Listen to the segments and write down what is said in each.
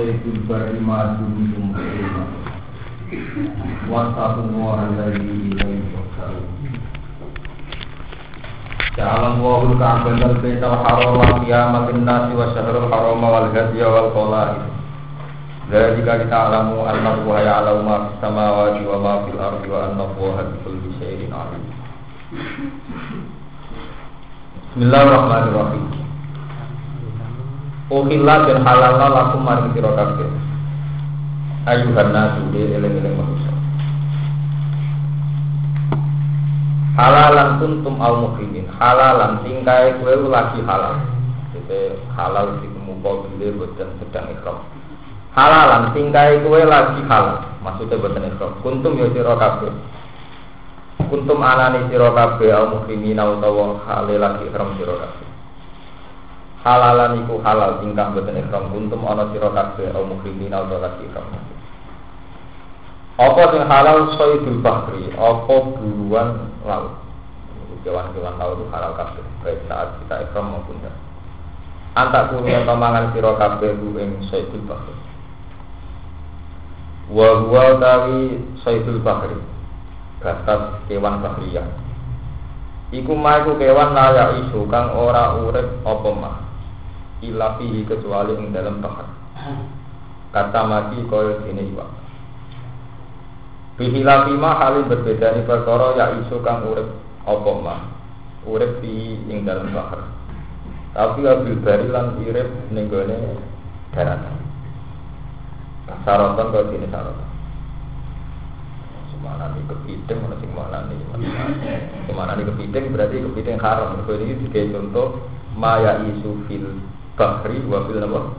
sayyidul bari ma'adum muslima wattaqullaha alladzi ilayhi tuhsharun. Ja'alan wa'ul ka'ban al-baital harama qiyamatin nasi wa syahrul harama wal hadiya wal qala'i. Dzalika ta'lamu anna Allaha ya'lamu ma fis samawati wa ma fil ardi wa anna Allaha bikulli syai'in 'alim. Bismillahirrahmanirrahim. Ukhillah dan halalna lakum maring sira kabeh. Ayuhan nasu eling-eling manusia. Halalan kuntum al muhrimin. Halalan tingkae kowe lagi halal. Jadi halal ditemukan bila boten sedang ihram. Halalan tingkae kowe lagi halal. Maksudnya boten ihram. Kuntum ya sira kabeh. Kuntum anani sira kabeh al muhrimin utawa halal lagi ihram sira kabeh. Halalan iku halal tingkah boten ihram kuntum ana sira kabeh au muhrimin au lagi ihram. Apa sing halal sayyidul bahri, apa buruan laut. Kewan-kewan laut itu halal kabeh baik saat kita ihram maupun tidak. Antak kuwi mangan sira kabeh ing sayyidul bahri. Wa huwa tawi sayyidul bahri. Batas kewan bahriyah. Iku iku kewan layak isu kang ora urip apa mah. Ilafihi kecuali ing dalam bahar. Kata mati kaya dene iwak. Bihilafi ma halin berbeda ni perkara ya isu kang urip apa mah. Urip di ing dalam bahar. Tapi abil bari lan urip ning gone daratan. Saratan kaya dene saratan. Semana ni kepiting mana sing mana ni. Semana ni kepiting berarti kepiting haram. Mergo iki digawe contoh maya isu fil bahri wa fil nama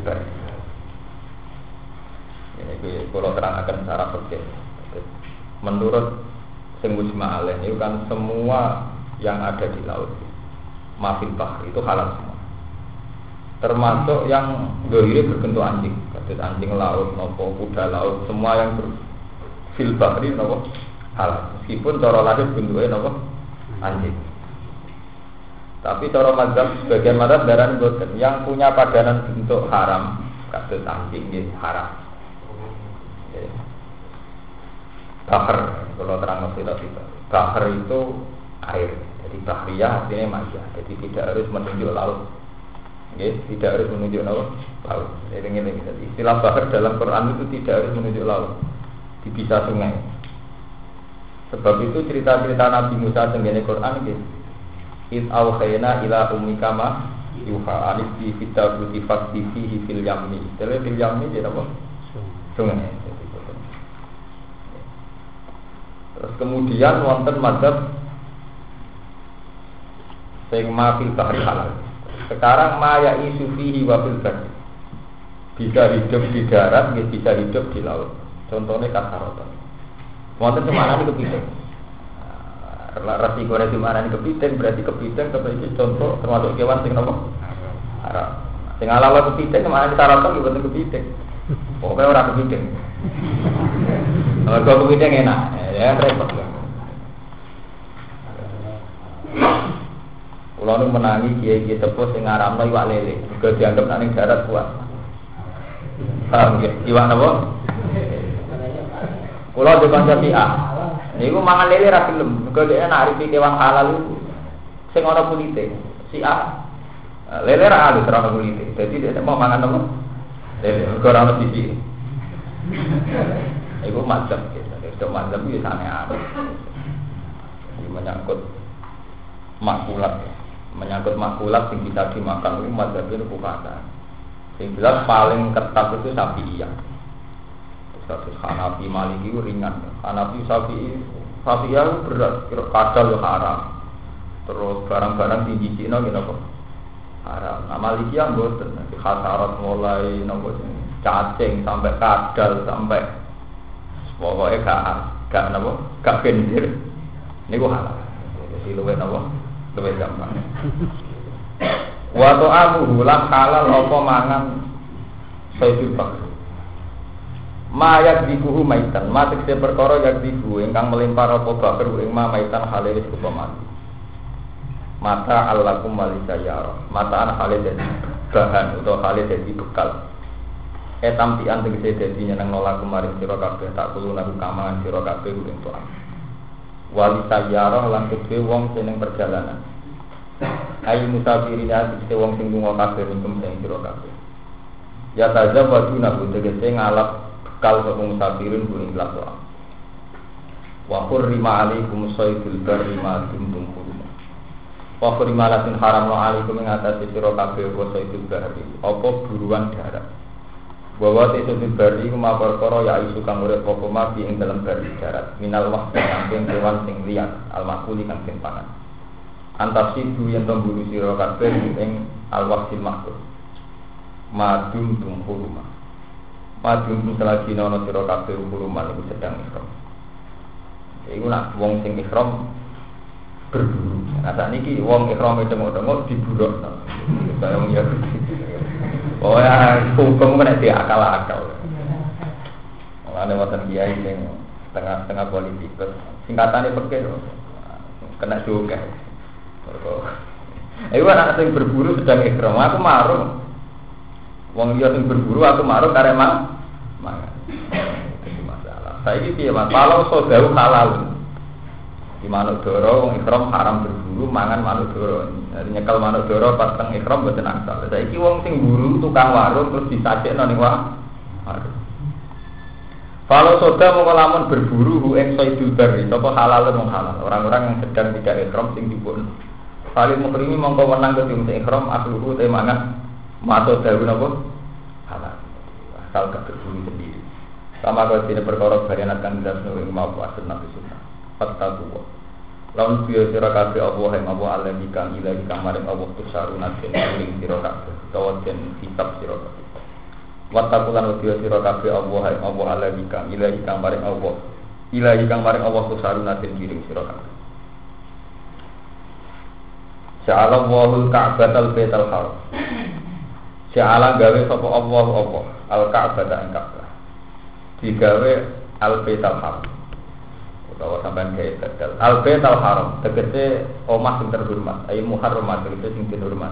ini kalau terangkan secara fikih. Menurut sing mujma' alaih itu kan semua yang ada di laut mafil bahri itu halal semua, termasuk yang dohiri berbentuk anjing, kados anjing laut nopo kuda laut, semua yang fil bahri nopo halal meskipun cara lahir bentuknya nopo anjing. Tapi cara mazhab sebagian mazhab darani boten yang punya padanan bentuk haram kados anjing nggih haram. Bahar kalau terang itu bahar itu air. Jadi bahriyah artinya maja. Jadi tidak harus menunjuk laut. Nggih, tidak harus menunjuk laut. Jadi ngene iki. Istilah bahar dalam Quran itu tidak harus menunjuk laut. Bisa sungai. Sebab itu cerita-cerita Nabi Musa tenggene Quran nggih. Iz awhayna ila ummika ma yuha alif fi kitabi fihi fil yammi. Tele fil yammi dia apa? Sungai. Terus kemudian wonten madzhab sing ma fil bahri halal. Sekarang ma ya isu fihi wa fil bahri. Bisa hidup di darat, bisa hidup di laut. Contohnya kasaratan. Wonten semana iki kepiting. Resiko di mana ini kepiting berarti kepiting seperti contoh termasuk kewan sing nopo haram. Sing halal kepiting kemana ditaratan juga bentuk kepiting. Pokoknya orang kepiting. Kalau kepiting enak, ya repot lah. Kulo nu menangi kiai-kiai tepus sing ngaramno iwak lele, juga dianggap nek ning darat kuat. Paham nggih? Iwak napa? Kulo di kanca Syiah. Niku mangan lele ra gelem, mergo dhek nak arifi kewan halal iku sing ana kulite. Syiah. Lele ra alus ra ana kulite. Dadi dhek mau mangan apa? Lele mergo ra ana sisi. Iku madzhab gitu. Itu madzhab iki aneh-aneh. Ini menyangkut makulat. Menyangkut makulat yang bisa dimakan itu madzhab itu bukan. Yang jelas paling ketat itu Syafi'iyah. Status Hanafi Maliki itu ringan. Hanafi Syafi'iyah berat, kadal itu haram. Terus barang-barang tinggi Cina gitu kok haram. Nah Malikiyah boten, khasarat mulai nopo cacing sampai kadal sampai pokoknya gak nopo gak gendir. Ini gua halal. Jadi luwih nopo luwih gampang. Wa ta'amuhu lan halal apa mangan sayyidul bahri. Ma yakdibuhu maitan, ma tekse perkara yakdibu ingkang melimpar apa bakar ing ma maitan halal wis mati. Mata allakum walisayara. Mataan halal dadi bahan utawa halal dadi bekal. Tampian tegese dadi nyeneng nolak kemarin sira kabeh tak kulo naku kamangan sira kabeh ing tuan. Wali sayyarah lan kedhe wong sing ning perjalanan. Ayu musafirin tegese wong sing lunga kabeh ing sira kabeh. Ya tazawwadu naku tegese ngalap bekal sapa musafirin ing lakon. Wa hurrima alaikum saydul barri ma dumtum hurum. Wa hurrima latin haramna alaikum ing atase sira kabeh wa saydul barri apa buruan darat. Bahwa sesudut bari kuma perkara ya isu kang urip apa mati ing dalam bari darat minal wahdi saking kewan sing liyan al-makuli kang sing pangan antasidu yen tembulu sira kabeh ing al-wahdi makul madum tum huruma madum selagi ana sira kabeh huruman iku sedang ihram iku nak wong sing ihram berburu nah sakniki wong ihram tengok-tengok diburuk kaya wong ya oh ya, hukum kan akal-akal. Ada wonten kiai sing tengah politik, singkatannya pakai kena juga. Iku anak sing berburu sedang ihram, aku marung. Wong liya sing berburu aku marung karek mangan. Itu masalah. Saiki piye Mas? Kalau sodau halal. Di manuk doro wong ihram haram berburu mangan manuk doro. Jadi nyekel manuk doro pas teng ihram mboten angsal. Saiki wong sing buru tukang warung terus disajekno ning warung. Kalau soda mongko lamun berburu hu ing saidul bari, apa halal wong halal. Orang-orang yang sedang tidak ihram sing dipun. Saling mukrimi mongko wenang ke sing ihram asluhu te mangan mato dawu napa halal. Asal gak berburu sendiri. Sama kaya dene perkara barianat kan dasno ing mau asal nabi sunnah. Fattaqwa. Lawan biya sira kabeh Allah ing Allah alladzi kang ilahi kang maring Allah tusaruna den ing sira kabeh utawa den kitab sira kabeh. Wattaqulan biya sira kabeh Allah ing Allah alladzi kang ilahi kang maring Allah. Ilahi kang maring Allah tusaruna den ing sira kabeh. Ja'ala Allahul Ka'batal Baitul Haram. Ja'ala gawe sapa Allah apa al-Ka'bata ing Ka'bah. Digawe al-Baitul Haram. Bahwa sampai gaya gagal. Al-Bait al-Haram tegese omah sing terhormat, ayo muharramat tegese sing terhormat.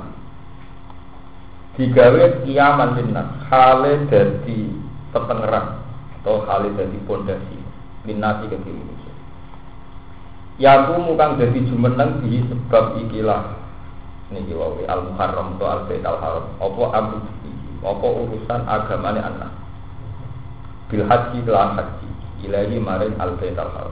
Digawe kiaman linnas, hale dadi petengeran atau hale dadi pondasi linnasi ke manusia. Yaku mukang dadi jumeneng di sebab ikilah niki wae al-Muharram atau al-Bait al-Haram. Apa amru apa urusan agamane anak. Bil haji lan haji ilahi maring al-Bait al-Haram.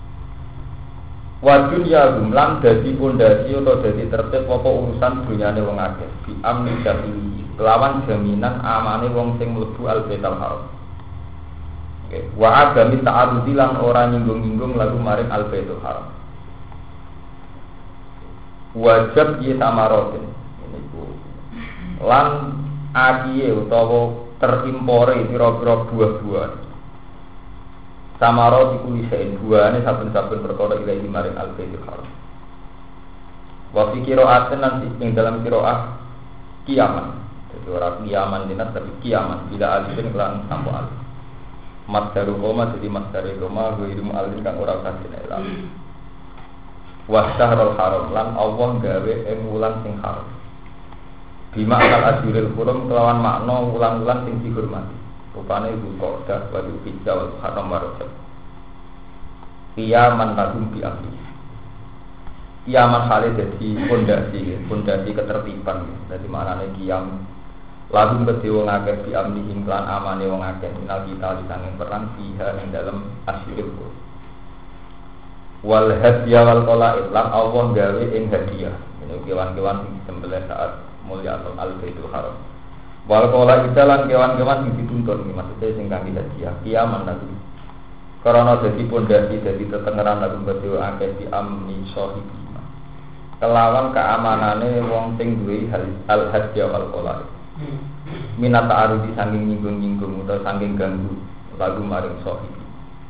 Wa dunya gumlan dadi pondasi utawa dadi tertib apa urusan dunyane wong akeh bi amni jami kelawan jaminan amane wong sing mlebu al-Baitul Haram. Oke, wa agami ta'arudi lan ora nyinggung-nyinggung lagu maring al-Baitul Haram. Wajib ye tamarotin niku. Lan akiye utawa terimpore pira-pira buah-buahan. Samaro dikuli sein buahane saben-saben perkara ilahi maring al-Baitul Haram. Wa fi qira'atin nanti ing dalam qira'ah kiaman. Jadi ora kiaman dinas tapi kiaman bila alifin kelan sampo alif. Masdaru koma jadi masdari koma ghairu alif kang ora usah dinelam. Wa syahrul haram lan Allah gawe ing wulan sing haram. Bima al-ajrul hurum kelawan makna wulan-wulan sing dihormati. Rupane Zulqa'dah wa Dzulhijjah wal Muharram wa Rajab. Qiyaman lahum bi amri. Qiyaman hale dadi pondasi ketertiban. Dadi maknane qiyam lahum kedhe wong akeh bi amri lan amane wong akeh minal kita disanging perang fiha ing dalem asyirul. Wal hadiya wal qala'id lan Allah gawe ing hadiah. Ini kewan-kewan sing disembelih saat mulya al-Baitul Haram. Wal kola italan kewan-kewan sing dituntun maksudnya sing kangge hadiah kiaman nanti. Karena dadi pondasi dadi tetengeran lagu badhe akeh di amni sahibi. Kelawan keamanane wong sing duwe al hadiah wal kola. Minat ta'arudi saking nyinggung-nyinggung utawa saking ganggu lagu maring sahibi.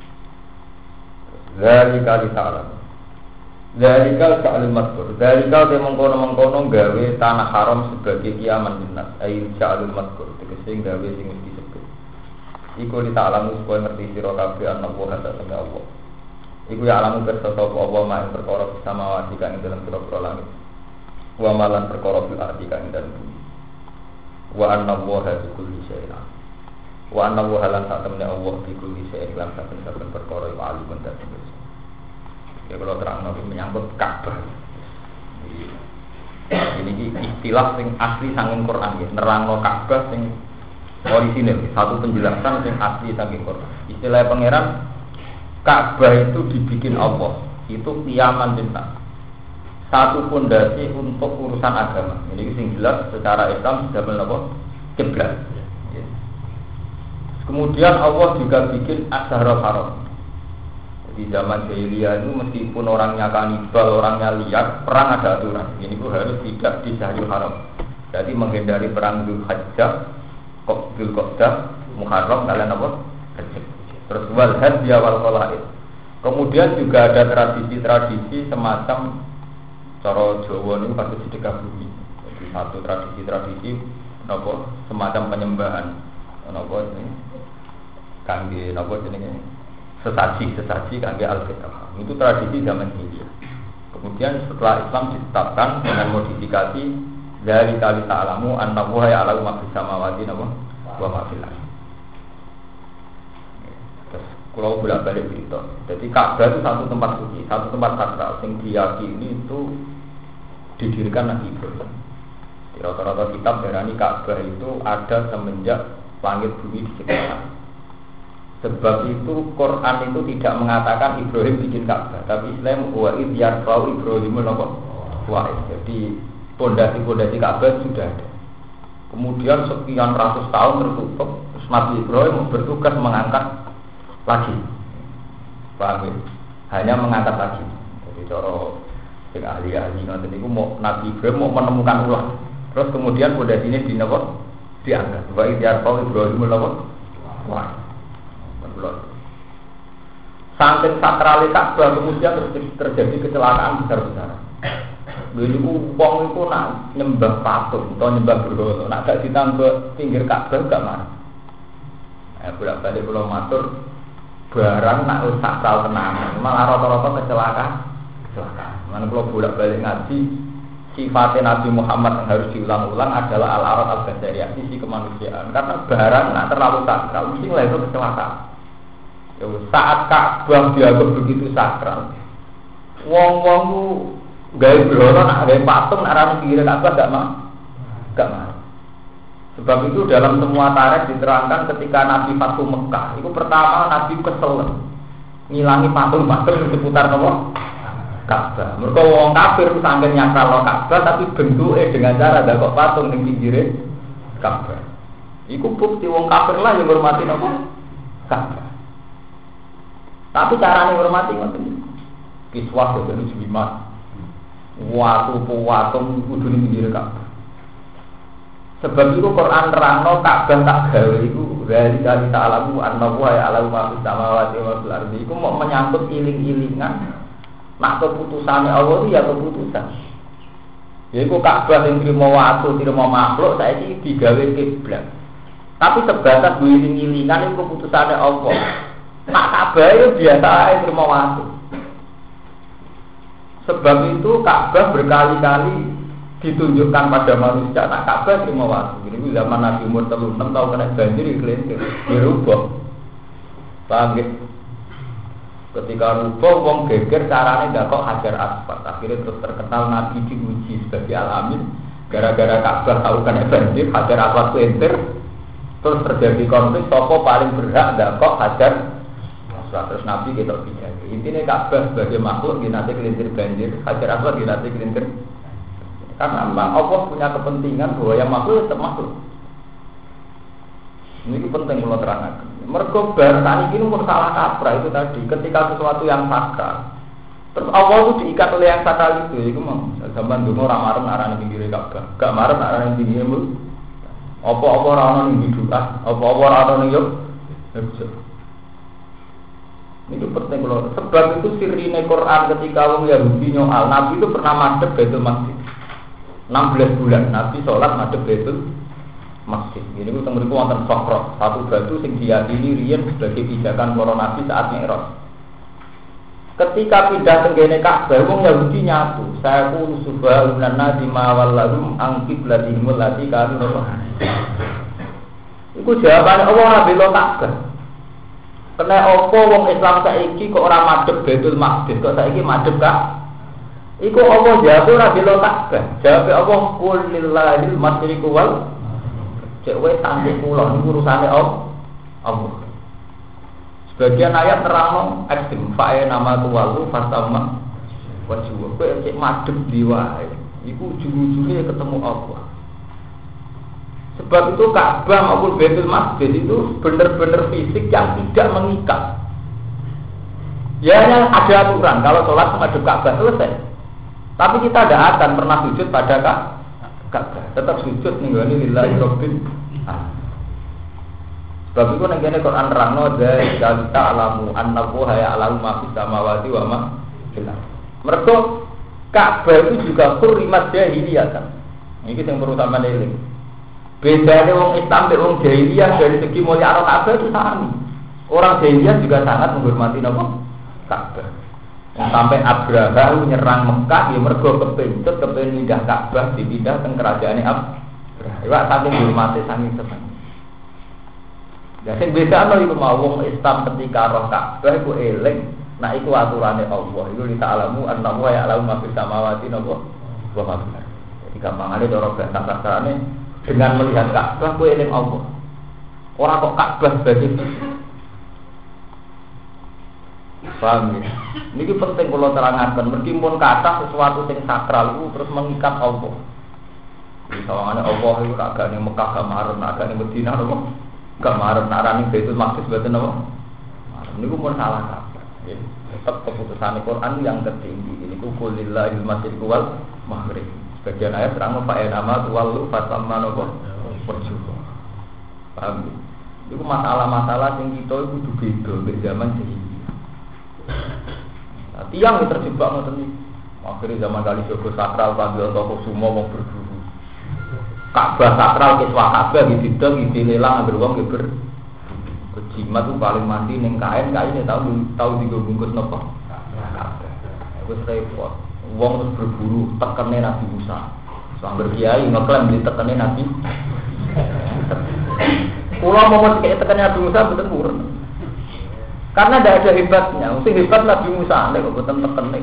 Zalika li ta'ala. Zalika sa'al madkur. Zalika te mengkono-mengkono gawe tanah haram sebagai kiaman dinas. Air sa'al madkur. Tegese gawe sing mesti disebut. Iku li ta'lamu supaya ngerti sira kabeh ana wa hada sama Allah. Iku ya alamu kersa sapa Allah mak perkara samawati kang ing dalem pira-pira langit. Wa malan perkara fil ardi kang ing dalem bumi. Wa anna wa hada kulli syai'in. Wa anna wa halan satamna Allah bi kulli syai'in lan saben-saben perkara iku alimun dadi. Ya kalau terang nabi menyangkut Ka'bah. Ini istilah sing asli saking Quran ya, nerangno Ka'bah sing orisinil, satu penjelasan sing asli saking Quran. Istilah pangeran Ka'bah itu dibikin Allah, itu qiyaman linnas. Satu fondasi untuk urusan agama. Ini sing jelas secara Islam sudah menapa? Kiblat. Kemudian Allah juga bikin Asharul Haram. Di zaman jahiliyah itu meskipun orangnya kanibal, orangnya liar, perang ada aturan. Ini pun harus tidak di Syahrul Haram. Jadi menghindari perang Dzulhijjah, Dzulqa'dah, Muharram, kalian apa? Terus wal hadya wal qalaid. Kemudian juga ada tradisi-tradisi semacam cara Jawa ini pasti sedekah bumi. Jadi satu tradisi-tradisi apa? Semacam penyembahan. Apa ini? Kangge apa jenenge? Sesaji kangge al-fitah. Itu tradisi zaman jahiliyah. Kemudian setelah Islam ditetapkan dengan modifikasi dari kali ta'lamu annahu ya'lamu ma fis samawati wa ma fil ardh. Terus kalau bolak-balik cerita. Jadi Ka'bah itu satu tempat suci, satu tempat sakral yang diyakini itu didirikan Nabi Ibrahim. Di rata-rata kitab berani Ka'bah itu ada semenjak langit bumi diciptakan. Sebab itu Quran itu tidak mengatakan Ibrahim bikin Ka'bah, tapi Islam wa id yarfa'u Ibrahimul qawaid. Jadi pondasi-pondasi Ka'bah sudah ada. Kemudian sekian ratus tahun tertutup, Nabi Ibrahim bertugas mengangkat lagi. Paham ya? Hanya mengangkat lagi. Jadi cara sing ahli-ahli ngoten niku mau Nabi Ibrahim mau menemukan ulang. Terus kemudian pondasi ini diangkat. Wa id yarfa'u Ibrahimul qawaid. Saking sakrali Ka'bah kemudian terjadi kecelakaan besar-besaran. Dulu wong itu nak nyembah patung atau nyembah berhala, nak gak ditambah pinggir Ka'bah gak marah. Bolak-balik kula matur barang nak sakral tenan, malah rata-rata kecelakaan. Mana kula bolak-balik ngaji sifatnya Nabi Muhammad yang harus diulang-ulang adalah al-arad al-basariyah, sisi kemanusiaan. Karena barang nak terlalu sakral mesti lah itu kecelakaan. Saat Ka'bah dianggap begitu sakral, wong-wong ku gawe berhala nak gawe patung nak ra pinggir Ka'bah gak mau. Sebab itu dalam semua tarikh diterangkan ketika Nabi Fatu Mekah, itu pertama Nabi kesel ngilangi patung-patung di seputar Ka'bah. Mergo wong kafir saking nyakral Ka'bah tapi bentuke dengan cara ndakok patung ning pinggire Ka'bah. Iku bukti wong kafir lah yang hormati Ka'bah. Tapi caranya hormati ngoten. Kiswah dari Jumat. Watu-watung kudu ning pinggir Ka'bah. Sebab itu Quran nerangno Ka'bah tak gawe iku dari kali ta'lamu annahu ya'lamu ma fis samawati wa fil ardi. Iku mau menyangkut iling-ilingan. Nak keputusane Allah itu ya keputusan. Yaiku Ka'bah sing trimo watu, trimo makhluk saiki digawe kiblat. Tapi sebatas iling-ilingan iku keputusane Allah. Nak Ka'bah itu biasa aja terima waktu. Sebab itu Ka'bah berkali-kali ditunjukkan pada manusia. Nak Ka'bah terima waktu. Ini zaman Nabi umur 36 tahun kena banjir kelintir, dirubah. Paham ya? Ketika rubah, wong geger caranya nggak kok hajar asfalt. Akhirnya terus terkenal Nabi diuji sebagai alamin. Gara-gara Ka'bah tahu kena banjir, hajar asfalt kelintir. Terus terjadi konflik. Sopo paling berhak nggak kok hajar. Terus Nabi kita bicara. Intinya Ka'bah sebagai makhluk nanti kelintir banjir, hajar aswad nanti kelintir. Karena memang Allah punya kepentingan bahwa yang makhluk tetap makhluk. Ini penting kalau terangkan. Mergo bar tani ini pun salah kaprah itu tadi. Ketika sesuatu yang sakral, terus Allah itu diikat oleh yang sakral itu mau. Zaman dulu orang marah arah ning pinggir Ka'bah, gak marah arah ning pinggir mul. Apa-apa ora ono ning bid'ah, apa-apa ora ono ning yo. Itu penting loh. Sebab itu sirine Quran ketika wong Yahudi nyoal Nabi itu pernah madhep Baitul Maqdis 16 bulan Nabi sholat madhep Baitul Maqdis. Ini ku teng mriku wonten Sokro, satu batu sing diyakini riyen sebagai pijakan para nabi saat Mi'raj. Ketika pindah tenggene Ka'bah wong Yahudi nyatu, saya ku subhanallah nadi ma wallahum an qiblatihim allati kanu. Iku Iku jawabane Allah ora bela Ka'bah. Kena apa wong Islam saiki kok ora madhep Baitul Maqdis, kok saiki madhep Ka'bah? Iku Allah jawab ora bela Ka'bah. Jawabe Allah qul lillahil masyriqu wal cek wae tangge kula niku urusane Allah. Sebagian ayat terang ekstrim fae nama tuwalu fasama wajhu. Kowe cek madhep di wae. Iku ujung-ujungnya ketemu Allah. Sebab itu Ka'bah maupun Baitul Maqdis itu benar-benar fisik yang tidak mengikat. Ya hanya ada aturan kalau sholat menghadap Ka'bah selesai. Tapi kita tidak akan pernah sujud pada Ka'bah. Tetap sujud ninggani lillahi rabbil alamin. Sebab itu nengene Quran nerangno dzalika ta'lamu annahu ya'lamu ma fis samawati wa ma fil ardh. Mergo Ka'bah itu juga hurrimat jahiliyah kan. Iki sing perlu sampeyan eling. Bedanya wong Islam dan wong jahiliyah dari segi mulia Ka'bah itu sama. Orang jahiliyah juga sangat menghormati Ka'bah. Sampai Abraha nyerang Mekah, dia mergo kepintut, kepingin pindah Ka'bah, dipindah ke kerajaan Abraha. Iwak saking dihormati, saking senang. Ya, sing beda no iku mau wong Islam ketika roh Ka'bah iku eling, nah iku aturane Allah. Iku li ta'lamu annahu ya'lamu ma fis samawati wa ma fil ardh. Jadi gampangane cara bahasa kasarane dengan melihat Ka'bah kowe eling Allah. Ora kok Ka'bah sebagai fisik. Paham ya? Ini penting kalau terangkan. Meskipun kata sesuatu yang sakral itu terus mengikat Allah. Misalnya Allah itu agak di Mekah kemarin, agak di Medina, kemarin narani Baitul Maqdis betul apa? Ini pun salah kata. Tetap keputusan Quran yang tertinggi. Ini kulillahil masyriqu wal maghrib. Sebagian ayat terang Pak nama tuwalu fatamma nopo perjuangan. Paham ya? Itu masalah-masalah yang kita itu beda di zaman ini. Nah, tiang yang terjebak ngoten iki. Akhirnya zaman kali Joko sakral panggil toko sumo mau berburu. Ka'bah sakral kiswa Ka'bah gitu dilelang ambil wong ber. Kejimat tuh paling mandi ning kain tahu digo bungkus nopo. Ka'bah. Wis repot. Wong terus berburu tekene Nabi Musa. Sambil kiai ngeklaim di tekene Nabi. Kula mau kayak tekene Nabi Musa betul murun. Karena tidak ada hebatnya, mesti hebat Nabi Musa, kok bukan tekenik.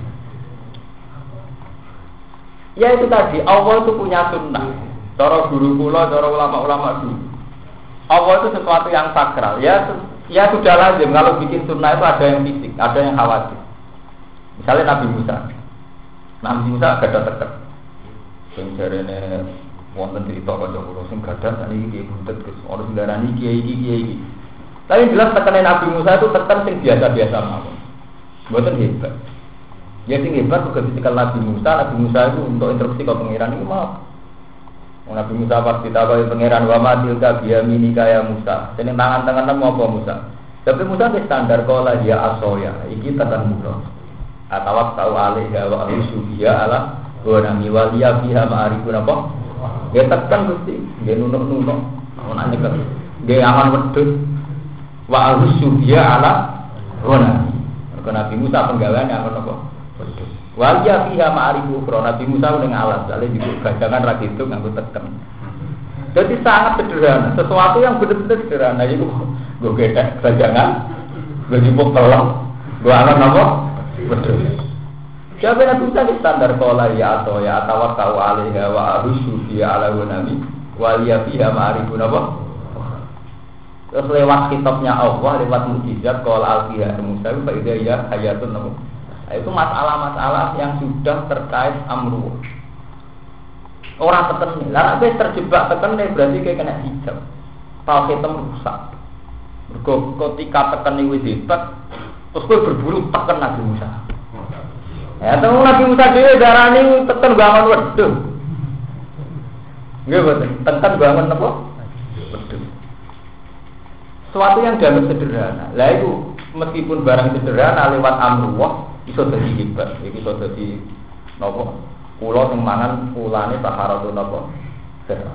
Ya itu tadi, Allah itu punya sunnah. Cara guru kula, cara ulama-ulama dulu. Allah itu sesuatu yang sakral. Ya sudah lazim kalau bikin sunnah itu ada yang fisik, ada yang khawatir. Misalnya Nabi Musa gak ada teket. Sing jarene wonten cerita kanca kula sing gadah sakniki buntet Gus, ora sembarani kiai. Tapi jelas tekanan Nabi Musa itu tekan sing biasa-biasa mawon. Mboten hebat. Ya sing hebat kok ketika Nabi Musa itu untuk instruksi ke pangeran itu mau. Nabi Musa pas ditakoki pangeran wa ma tilka biyaminika ya Musa. Seneng tangan-tangan apa Musa? Tapi Musa wis standar kala dia asoya. Iki tekan Musa. Atawak tau alaiha wa asyubiya ala wa nami waliya fiha ma'arifun apa? Ya tekan Gusti, nggih nunuk-nunuk. Ana nyekel. Nggih aman wedhus. Wa asyubiya ala ghona. Karena Nabi Musa penggaweane akan apa? Wedhus. Waliya fiha ma'arifu ukhra. Nabi Musa ning alas, jale juga gajangan ra gitu nganggo teken. Jadi sangat sederhana, sesuatu yang benar-benar sederhana itu gue gedek gajangan, gue jupuk telur, gue akan apa? Wedhus. Siapa Nabi Musa di standar kola ya atau tahu alaiha wa arusu fiha ala nabi waliya fiha ma'arifu apa? Terus lewat kitabnya Allah, lewat mukjizat qala al-fiha Musa fa idza ya hayatun nabi. Itu masalah-masalah yang sudah terkait amru. Orang teken, lah nek terjebak teken berarti kayak kena hijab. Tauhid rusak. Mergo ketika teken wis hebat, terus kowe berburu teken Nabi Musa. Ya, temu Nabi Musa dhewe darani teken bangun wedhus. Nggih boten, teken bangun apa? Wedhus. Suatu yang dianggap sederhana. Lah itu meskipun barang sederhana lewat amrullah iso dadi hebat, iki iso dadi napa? Kula sing mangan ulane taharatun napa? Sehat.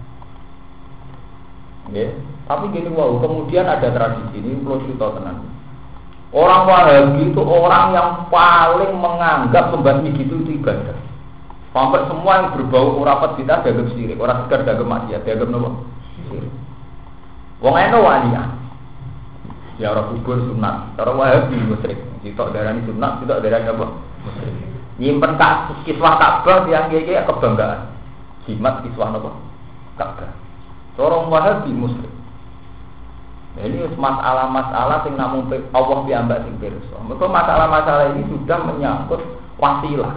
Nggih, tapi gini wow, kemudian ada tradisi ini perlu cerita tenan. Orang Wahabi itu orang yang paling menganggap membasmi gitu itu ibadah. Sampai semua yang berbau urapat kita dianggap syirik, orang sekedar dianggap maksiat, dianggap napa? Syirik. Wong eno walian. Ya ora kubur sunat, cara Wahabi musyrik. Sitok darani sunat, sitok darani apa? Musyrik. Nyimpen kiswah Ka'bah yang iki kebanggaan. Jimat kiswah napa? Ka'bah. Cara Wahabi musyrik. Ini masalah-masalah yang namung Allah piyambak sing pirsa. Mergo masalah-masalah ini sudah menyangkut wasilah.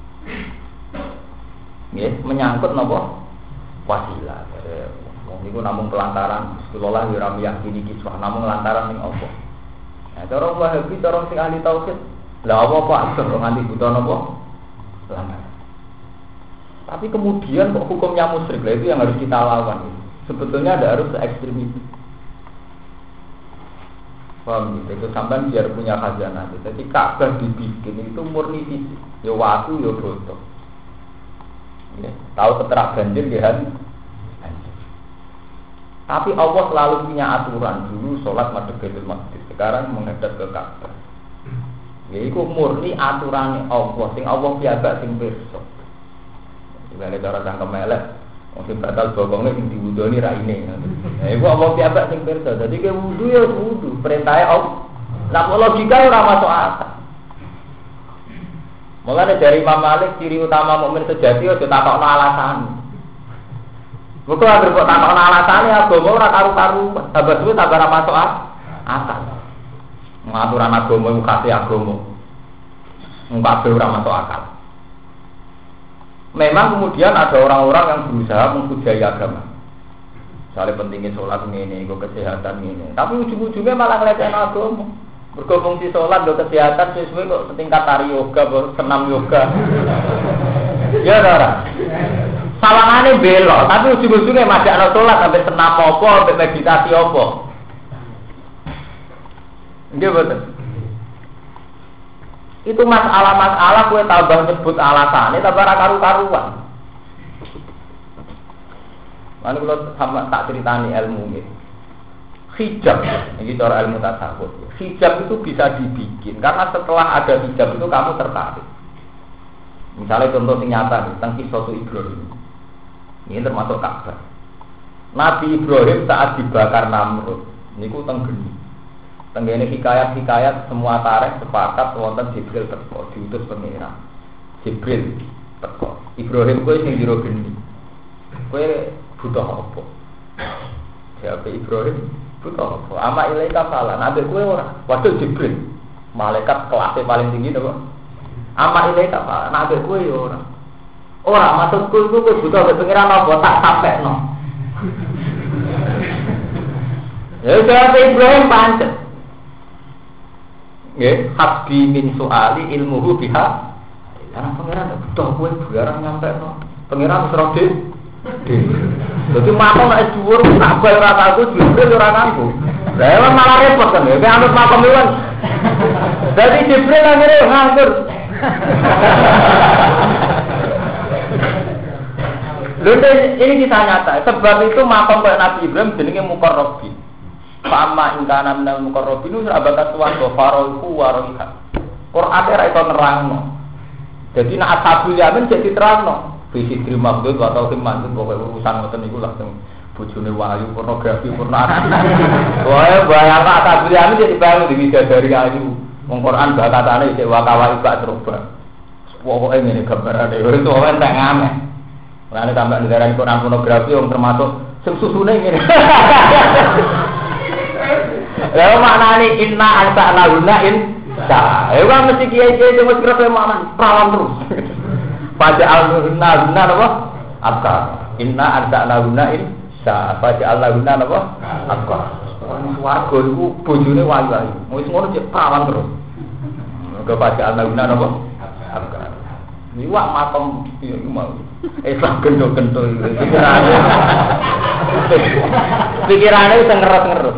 Nggih, menyangkut napa? Wasilah. Wong niku namung pelantaran Rasulullah ya ora meyakini kiswah, namung lantaran ning Allah. Nah, cara Wahabi, cara sing ahli tauhid, lha apa kok nganti buta napa? Lantaran. Tapi kemudian kok hukumnya musyrik, lah itu yang harus kita lawan. Sebetulnya ada harus ekstrem itu. Paham gitu, itu sampai biar punya khazanah. Jadi Ka'bah dibikin itu murni fisik, ya waktu ya bodoh. Ya, tahu keterak banjir kan? Tapi Allah selalu punya aturan. Dulu sholat madhep Baitul Maqdis, sekarang menghadap ke Ka'bah. Ya itu murni aturan Allah, sing Allah piyambak sing pirsa. Dibalik cara cangkem elek, mungkin batal bokongnya yang diwudoni raine. Nah, itu Allah piyambak sing pirsa. Jadi ke wudu ya wudu, perintahnya Allah. Nah, logika ora masuk akal. Mulane dari Imam Malik ciri utama mukmin sejati aja takokno alasan. Bukan agar kok takokno alasane agama ora karu-karu, tambah suwe tambah ora masuk akal. Ngaturan agama iku khase agama. Kabeh ora masuk akal. Memang kemudian ada orang-orang yang berusaha menghujai agama. Soalnya pentingnya sholat ini, kok kesehatan ini. Tapi ujung-ujungnya malah ngelecehkan agama. Berfungsi sholat, kesehatan, sesuai kok setingkat tari yoga, senam yoga. Ya ora. Salahane belok, tapi ujung-ujungnya masih ada sholat sampai senam apa, sampai meditasi apa. Nggih betul. Itu masalah-masalah kowe tambah nyebut alasane tambah ra karu-karuan. Lan kula sama tak critani ilmu nggih. Hijab, ini cara ilmu tasawuf. Hijab itu bisa dibikin karena setelah ada hijab itu kamu tertarik. Misalnya contoh yang nyata nih, tentang kisah Ibrahim. Ini termasuk Ka'bah. Nabi Ibrahim saat dibakar Namrud, ini ku tenggeni. Tenggeni hikayat semua tarikh sepakat wonten Jibril teko diutus pengiran. Jibril teko. Ibrahim kowe sing jero geni. Kowe butuh apa? Jawab Ibrahim, butuh apa? Ama ilaika salah. Nabi kowe ora. Waduh Jibril. Malaikat kelasnya paling tinggi to, Pak. Ama ilaika salah. Nabi kowe ya ora. Ora maksudku iku kowe butuh pengiran apa tak sampekno. Ya jawab Ibrahim pancet. Nggih, habbi min soali ilmuhu biha. Karena pangeran butuh kowe barang nyampe no. Pangeran wis rode. Dadi makom nek dhuwur tak bal ora taku Jibril ora nganggo. Lah malah repot kan ya, anut makom iwan. Dadi Jibril akhire nganggur. Lha ini kisah nyata. Sebab itu makom kayak Nabi Ibrahim jenenge Muqarrabin. Fa'amma ingkana minal muqarrabin sahabat tuan do farohu waroha. Quran ora iso nerangno. Jadi nek ashabul yamin jadi terangno. Visi terima maksud atau maksud pokoke urusan ngoten niku langsung bojone wahyu pornografi pornografi. Wae bayang ashabul yamin jadi bayang diwidadari ayu. Wong Quran bakatane isih wakawai bak terubah. Pokoke ngene gambarane itu entek ngameh. Lan tambah negara Quran pornografi yang termasuk sing susune ngene. Lalu maknanya inna ansa'na gunain sah. Ewa mesti kiai-kiai itu mesti kerasa makna perawan terus. Pada al-guna apa? Abkar. Inna ansa'na gunain sah. Pada al-guna apa? Abkar. Warga itu bojone wayu-wayu. Wis ngono cek perawan terus. Kepada al-guna apa? Abkar. Ini wak makom iya mau. Islam gendho-gendho pikirannya bisa ngerus-ngerus.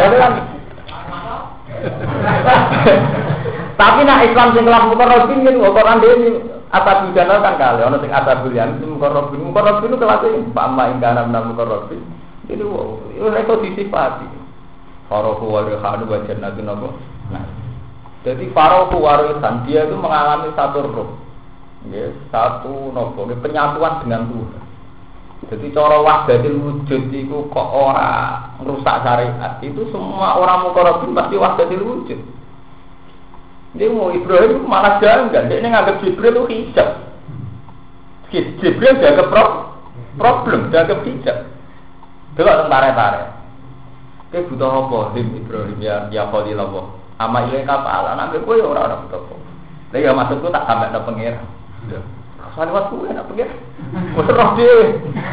Tapi nak Islam sing kelas Muqarrabin niku Quran dhewe apa bidana kan kali ana sing asabul yan Muqarrabin itu kelas iki pama ingkana nang Muqarrabin. Itu iso disifati. Farohu wa rihanu wa jannatun apa. Nah. Jadi farohu wa rihan dia itu mengalami satu roh. Ya, satu nopo, penyatuan dengan Tuhan. Jadi cara wahdatil wujud itu kok ora merusak syariat. Itu semua orang muqarrabin pasti wahdatil wujud. Dia mau Ibrahim malah janggal. Dia nganggap Jibril itu hijab. Jibril dianggap problem, dianggap hijab. Delok tentara-tentara. Dia butuh apa? Ibrahim ya Khalilullah. Ama ile kapal, anak kowe ora butuh apa. Lah ya maksudku tak sampe nang pengira. Rasane waktu enak pengira. Wes roh dhewe.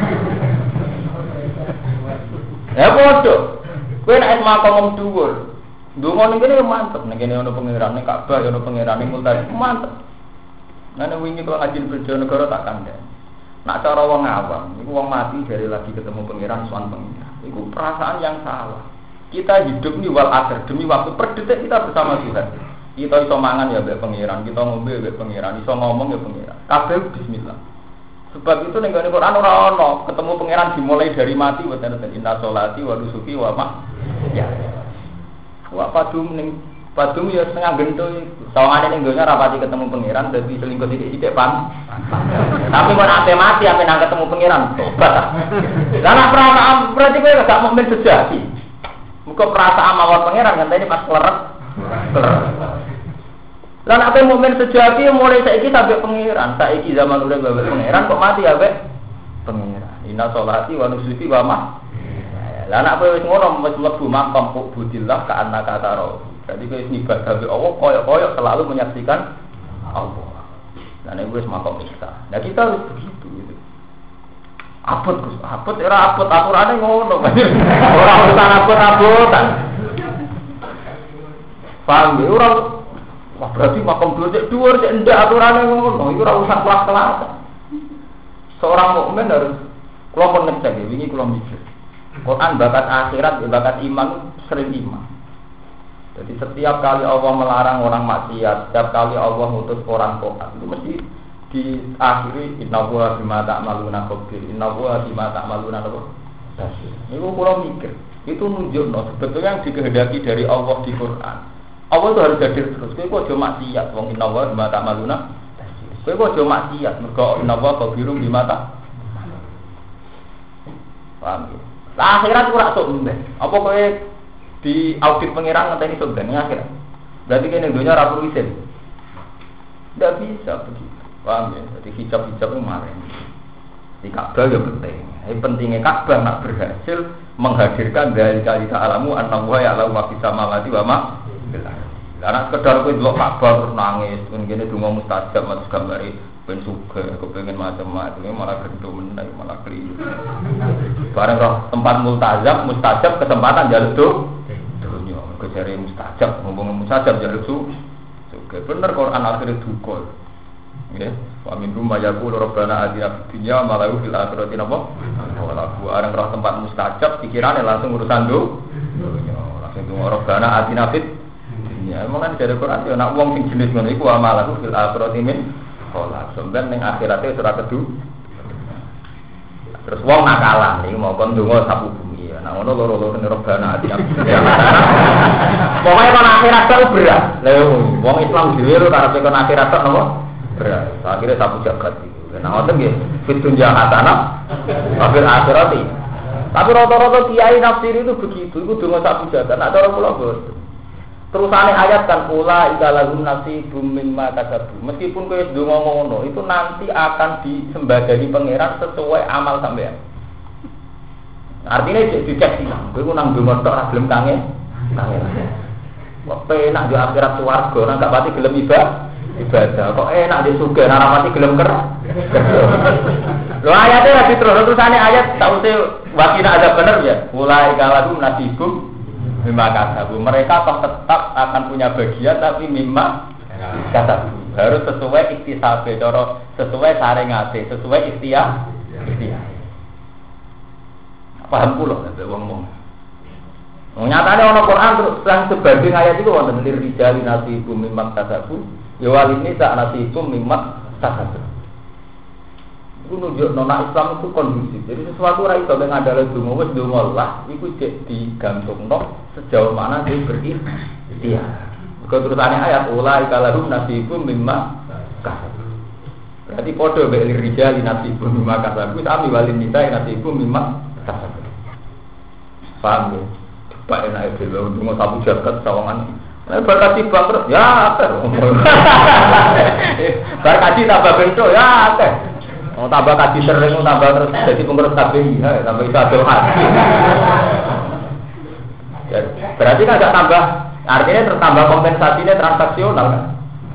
Ya bodoh. Kowe nek makom dhuwur. Ndonga ning kene mantep, ning kene ono pangeran, ning Ka'bah ono pangeran, ning Multazam mantep. Nane wingi kok ngajin Bojonegoro tak kandhani. Nak cara wong awam, iku wong mati dari lagi ketemu pangeran sowan pangeran. Iku perasaan yang salah. Kita hidup ni wal akhir demi waktu per detik kita bersama Tuhan. Kita iso mangan ya mbek pangeran, kita ngombe mbek pangeran, iso ngomong ya pangeran. Kabeh bismillah. Sebab itu ning Quran ora ono ketemu pangeran dimulai dari mati wa ta'ala inna sholati wa nusuki wa ya. Wa padum ya setengah gento iku. Sawangane ning donya rapati ketemu pangeran dadi selingkuh sithik-sithik pan. Tapi kok ate mati ape nang ketemu pangeran tobat. Lah nek perasaan berarti kowe gak mukmin sejati. Muga perasaan mawon pangeran ngenteni pas kleret. Lah nek mukmin sejati mulai saiki sampai pangeran, saiki zaman udah bae pangeran kok mati ape pangeran. Inna sholati wa nusuki wa lah nek kowe wis ngono wis mlebu makam budillah ka annaka taro. Jadi kowe ibadah be Allah koyo-koyo selalu menyaksikan Allah. Lah nek wis makam iksa. Nah kita harus begitu gitu. Abot Gus, abot era abot aturane ngono. Ora urusan abot-abotan. Paham ya ora. Wah berarti makam dhuwur cek ndak aturane ngono. Iku ora urusan kelas-kelas. Seorang mukmin harus kula pun ngecek wingi kula mikir. Quran bakat akhirat, bakat iman sering iman. Jadi setiap kali Allah melarang orang maksiat, setiap kali Allah ngutus orang taat, itu mesti diakhiri innallaha bima ta'maluna khabir. Innallaha bima ta'maluna basir. Niku kula mikir, itu nunjukno sebetulnya yang dikehendaki dari Allah di Quran. Allah itu harus hadir terus. Kowe kok aja maksiat, wong innallaha bima ta'maluna basir. Kowe kok aja maksiat, mergo innallaha khabirun bima ta'maluna. Paham ya? Lah akhirat ora sok mbek. Apa kowe di audit pengiran ngenteni sok ben akhirat. Berarti kene dunya ora perlu isin. Ndak bisa begitu. Paham ya? Jadi hijab-hijab itu kemarin. Di Ka'bah ya penting. Pentingnya Ka'bah nak berhasil menghadirkan dari kali ta'alamu annahu ya'lamu ma fis samawati wa ma fil ardi. Lah sekedar kowe delok Ka'bah terus nangis, ngene donga mustajab mas gambare ben suka kepengen macam-macam malah gendho meneh malah keliru. Bareng roh tempat mustajab kesempatan jaluk dunya kejare mustajab ngomong mustajab jaluk suka bener Quran akhire duka nggih wa min rumma yaqulu rabbana atina fid dunya ma lahu fil akhirati napa wala bareng roh tempat mustajab pikirane langsung urusan dunya langsung donga rabbana atina fid dunya emang dari Quran yo nek wong sing jenis ngono iku amalahu fil akhirati min kolak, sebenarnya yang akhiratnya surat kedua. Terus wong nakalan, ini mau kondungo sapu bumi. Nah, ono loro-loro nirobana hati. Pokoknya kon akhirat itu berat. Lalu, wong Islam dhewe karena kon akhirat itu nopo berat. Akhirnya sapu jagat. Nah, ngoten nggih, fitun jahatana, kafir akhirati. Tapi rata-rata kiai nafsir itu begitu, itu donga sapu jagat. Nah, cara kula boten. Terusane ayat kan ula ikalahum nasibum mimma kasabu. Meskipun kowe ndonga ngono, itu nanti akan disembadani pangeran sesuai amal sampean. Artinya dicek silang. Kowe nang ndonga tok ora gelem kangen. Kok penak yo akhirat swarga, nang gak pati gelem ibadah. Kok enak di surga, nang ora pati gelem kerja. Lho ayate lagi terusane ayat saute wakina ada bener ya. Ula ikalahum nasibum mimma kasabu. Mereka tetap akan punya bagian tapi mimma kasabu. Harus sesuai iktisabe, sesuai saringate, sesuai ikhtiar. Paham kula nek wong-wong. Nyatane ana Quran terus lan sebanding ayat itu wonten lirijali nasibum mimma kasabu, ya walini sak nasibum mimma kasabu. Itu nunjukno nek Islam itu kondusif. Jadi sesuatu ora iso ngandale donga wis donga lah iku cek digantungno sejauh mana dia berikhtiar. Terusane ayat ulai kalahum nasibum mimma kasab. Berarti podo beli rijal nasibu mimma kasabu sami walin nisa nasibu mimma kasabu. Paham ya? Pak enak itu loh, cuma sabu jagat sawangan. Berkati bangkrut, ya apa? Berkati tambah bentuk, ya apa? Mau tambah kaji sering, tambah terus jadi pengurus KPI, tambah itu ada hati. Berarti kan agak tambah, artinya tertambah kompensasinya transaksional kan?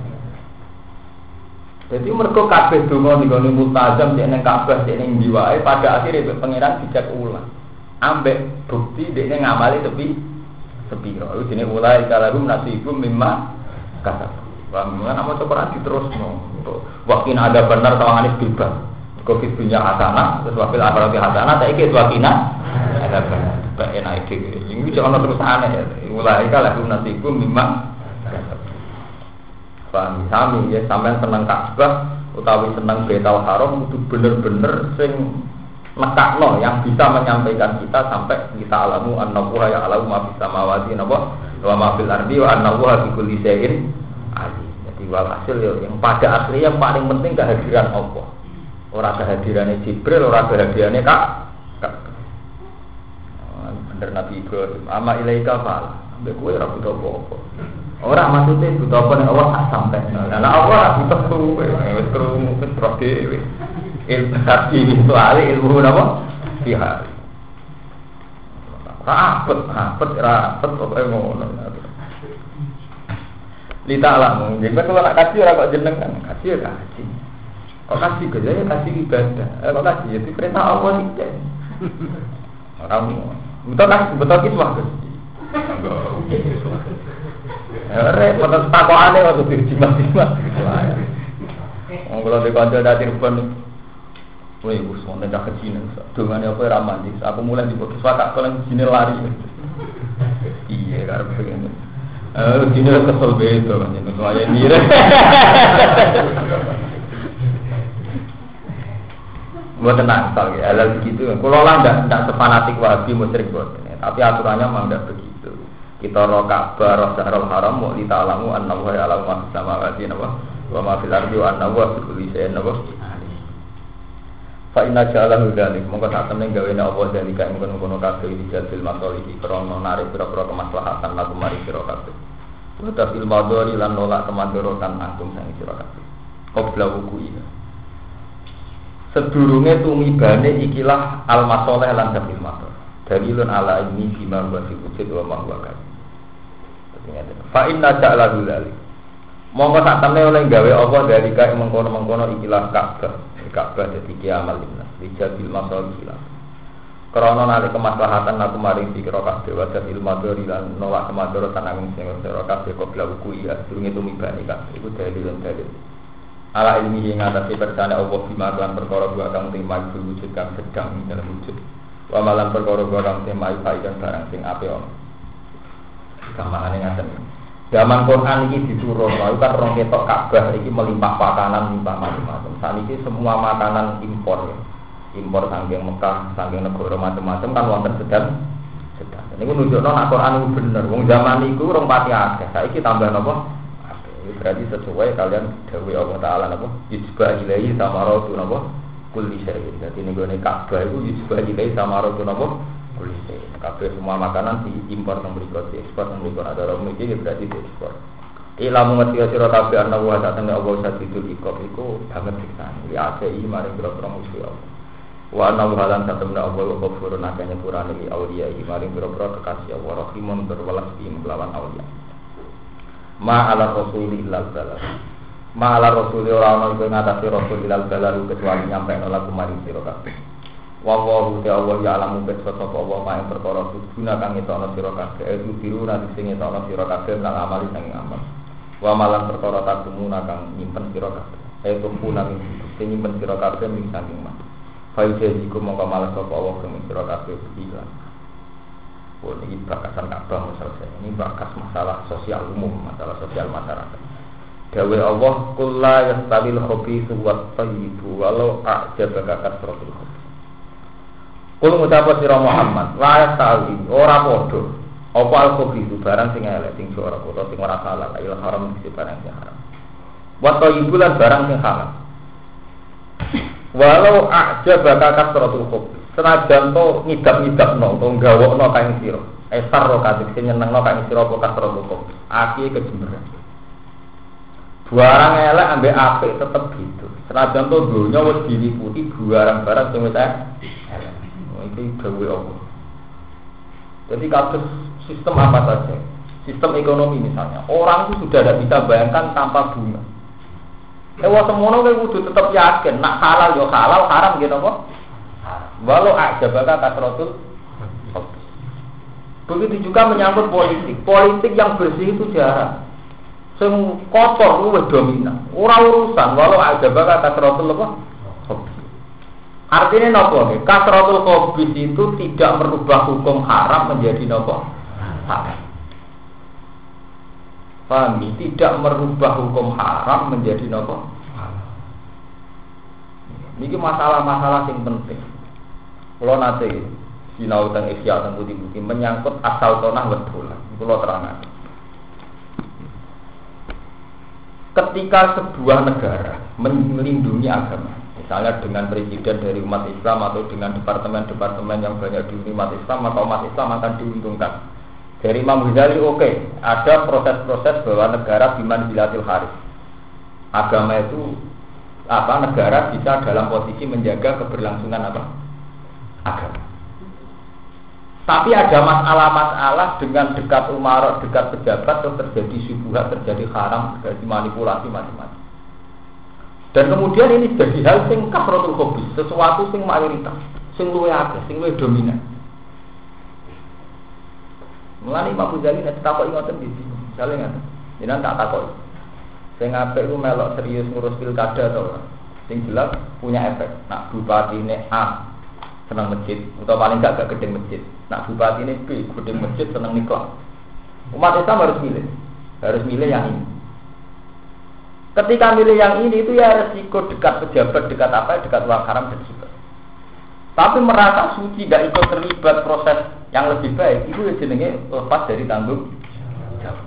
Jadi mereka kabeh donga nggone multazam cek ning Ka'bah cek ning jiwae pada akhirnya pangeran dijak ulang. Ambek bukti dekne ngamali tepi sepiro. Iku jenenge ulai kalahum nasibum mimma kasab. Wa mimma namo Quran diterusno. Wakina ada benar tawangane bebas. Covid punya hasanah, terus wafil akhirat hasanah, saiki wakina ada benar. Bae enak iki. Iki jangan terusane ya. Ulai kalahum nasibum mimma kasab. Paham sami ya sampean seneng Ka'bah utawi seneng Baitul Haram itu bener-bener sing nekakno yang bisa menyampaikan kita sampai kita alamu annahu ya alamu ma fis samawati wa ma fil ardi wa annahu bi kulli syai'in alim. Jadi walhasil ya yang pada asli yang paling penting kehadiran Allah. Ora kehadirannya Jibril, ora kehadirannya Kak. Bener Nabi Ibrahim, ama ilaika fal. Mbek kowe ora butuh apa-apa. Orang maksudnya butuh apa nih Allah tak sampai. Nah Allah butuh tuh, wes kerungu terus dewi. Ilmu hati itu alih ilmu apa? Pihak. Rapet, apa yang ngono. Lita alam, jadi kalau nak kasih orang kok jeneng kan, kasih ya kasih. Kok kasih kerja ya kasih ibadah. Kok kasih jadi perintah Allah nih. Orang betul kiswah kasih. Repot takokane waktu dijimat-jimat. Wong kula di kanca dadi rupane. Woi, wis wonten dak kecinan. Dongane apa ora mandi. Aku mulai dibokis watak kolen jine lari. Iya, karep pengen. Jine kesel beto kan jeneng kaya nire. Mboten nakal ya, hal begitu. Kula lah ndak sefanatik Wahabi musyrik boten. Tapi aturannya memang ndak begitu. Kita roh Ka'bah, roh Syahrul Haram, mau ditalamu annahu ya'lamu ma fis samawati wa ma fil ardi wa annahu bi kulli syai'in fa inna ja'alahu dzalik mongko sak temene gawene apa dalika mungkon-mungkon kabeh iki jadil masalihi krana narik pira-pira kemaslahatan lagu mari sira kabeh. Wa tafil madhari lan nolak kemandorotan angkum sang sira kabeh. Qabla wuku'i. Sedurunge tumibane ikilah al-masalih lan tafil madhar. Dalilun ala ini bima wa fi wujud wa ma huwa kan. Fa inna ja'alahu dzalik. Monggo sak temne oleh gawe apa dari kae mengkono-mengkono ikilah Ka'bah. Ka'bah dadi kiamal linnas. Dijabil masalih ilah. Krana nalika kemaslahatan aku maring pikira kabeh wa il madhari lan nolak kemadharatan angin sing ora kabeh qabla wuku ya durunge tumibane kabeh. Iku dalilun dalil. Ala ilmi ing atase persane Allah bima lan perkara wa kang timai wujud kang sedang ing dalam wujud. Wa malan perkara kang temai faedah barang sing apik ana. Gamane ngaten. Zaman Quran iki diturun, lalu kan rong ketok Ka'bah iki melimpah pakanan limpah macam-macam. Saniki semua makanan impor ya. Impor saking Mekah, saking negara macam-macam kan wonten sedang. Niku nunjukno nek Quran iku bener. Wong zaman iku rong pati akeh. Saiki tambah napa? Akeh. Berarti sesuai kalian dawuh Allah Taala napa? Yujba ilaihi samaratu napa? Kulli syai'. Dadi niku nek Ka'bah iku yujba ilaihi samaratu napa? Kulise, kabeh semua makanan diimpor nang mriku, diekspor nang mriku ada orang iki berarti diekspor. Ilmu ngerti sira kabeh ana wa satene Allah sadidul ikop iku banget siksan. Ya akeh maring boro-boro musuh Allah. Wa ana halan satene Allah ghafurun akeh nyepurane li auliya maring boro-boro kekasih Allah rahimun berwelas di melawan auliya. Ma ala rasul illal balagh. Ma ala rasul ora ana iku ngatasi rasul illal balagh kecuali nyampe lagu maring sira kabeh. Wallahu ta'ala ya'lamu bima sapa wa ma ing perkara guna kang etono sira kabeh itu biru nanti sing etono sira kabeh nang amali sing amal. Wa malan perkara takumuna kang nyimpen sira kabeh. Itu puna sing nyimpen sira kabeh ming saking mas. Faide iku mongko malas sapa Allah kang sira kabeh iki. Oh ini bakasan Ka'bah selesai. Ini bakas masalah sosial umum, masalah sosial masyarakat. Dawe Allah kullu yastabil khabithu wat thayyibu walau a'jabaka kasratul khabith. Kulo ngucap sira Muhammad, la tawi ora padha. Apa al-khabith barang sing elek sing ora kota sing ora halal, ayo haram sing barang sing haram. Wa thayyibu lan barang sing halal. Walau aja bakal kasratul hub. Senajan to ngidap-ngidapno to gawokno kaing sira. Esar ro kadek sing nyenengno kaing sira apa kasratul hub. Aki kejemberan. Barang elek ambek apik tetep gitu. Senajan to donya wis diliputi barang-barang sing wis elek. Iki gawe apa? Jadi kados sistem apa saja. Sistem ekonomi misalnya. Orang itu sudah tidak bisa bayangkan tanpa bunga. Wong semono kowe kudu tetep yakin, nak halal yo halal, haram gitu apa? Walau aja bakal kasratul. Begitu juga menyangkut politik. Politik yang bersih itu jarang. Sing kotor luwih dominan. Ora urusan walau aja bakal kasratul apa? Artinya napa? Kasratul khabith itu tidak merubah hukum haram menjadi napa? Halal. Paham? Tidak merubah hukum haram menjadi nopo. Ini masalah-masalah yang penting. Kalau nanti sinau tentang Ihya tentang bukti-bukti menyangkut asal tanah wedolan. Kalau terangkan. Ketika sebuah negara melindungi agama, misalnya dengan presiden dari umat Islam atau dengan departemen-departemen yang banyak di umat Islam, maka umat Islam akan diuntungkan. Dari Imam Ghazali ada proses-proses bahwa negara biman bilatil haris. Agama itu negara bisa dalam posisi menjaga keberlangsungan agama. Tapi ada masalah-masalah dengan dekat umarok, dekat pejabat terus terjadi syubhat, terjadi haram, terjadi manipulasi macam-macam. Dan kemudian ini jadi hal sing kasratul khabith, sesuatu sing mayoritas, sing luwih akeh, sing luwih dominan. Mulane Imam Ghazali nek takoki ngoten iki, jale ngoten. Jenengan tak takoki. Sing apik ku melok serius ngurus pilkada to. Sing jelas punya efek. Nak bupatine A seneng masjid, utawa paling gak gedeng masjid. Nak bupatine B gedeng masjid seneng nikah. Umat Islam harus milih. Harus milih yang ini. Ketika milih yang ini itu ya resiko dekat pejabat, dekat apa, dekat uang haram dan juga. Tapi merasa suci tidak ikut terlibat proses yang lebih baik, itu jenenge lepas dari tanggung jawab.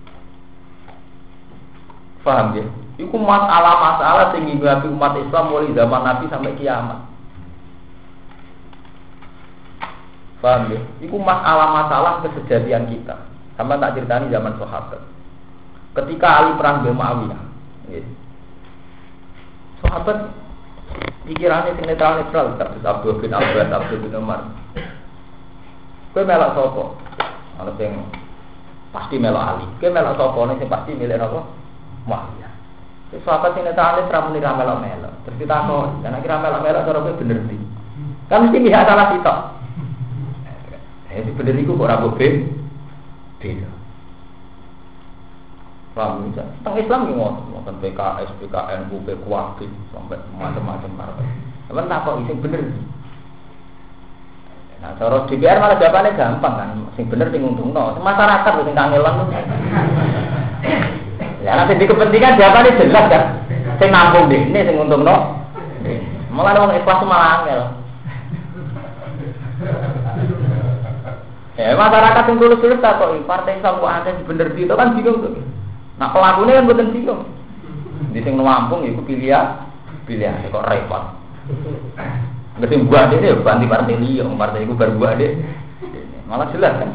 Paham ya? Itu masalah-masalah yang menghinggapi umat Islam mulai zaman Nabi sampai kiamat. Paham ya? Itu masalah-masalah kesejatian kita. Sama tak ceritani zaman sahabat. Ketika Ali perang dengan Muawiyah, ya. Sahabat pikirannya sing netral-netral, terus Abdul bin Abbas, Abdul bin Umar. Kowe melok sapa? Ana sing pasti melok Ali. Kowe melok sapa? Ana sing pasti milih apa? Muawiyah. Wis sahabat sing netral-netral muni ra melok-melok. Terus ditakoni, dan akhirnya melok-melok cara kowe bener ndi? Kan mesti pihak salah sitok. Bener iku kok ora beda. Paham ya? Tentang Islam ki ngoten PKS, PKN, UP, Kuwati sampai macam-macam partai. Sampeyan takok sing bener. Nah, cara DPR malah jawabannya gampang kan. Sing bener sing untungno. Masyarakat sing kangelan. Ya nanti di kepentingan jawabannya jelas kan. Sing nampung dekne sing untungno. Malah wong ikhlas malah angel. Ya masyarakat sing tulus-tulus takoki partai Islam kok ada bener itu kan bingung tuh. Nah pelakunya kan bukan bingung. Di sing nampung iku pilihan kok repot. Ngerti buat dia banti partai liya, partai itu berbuat dia. Malah jelas kan.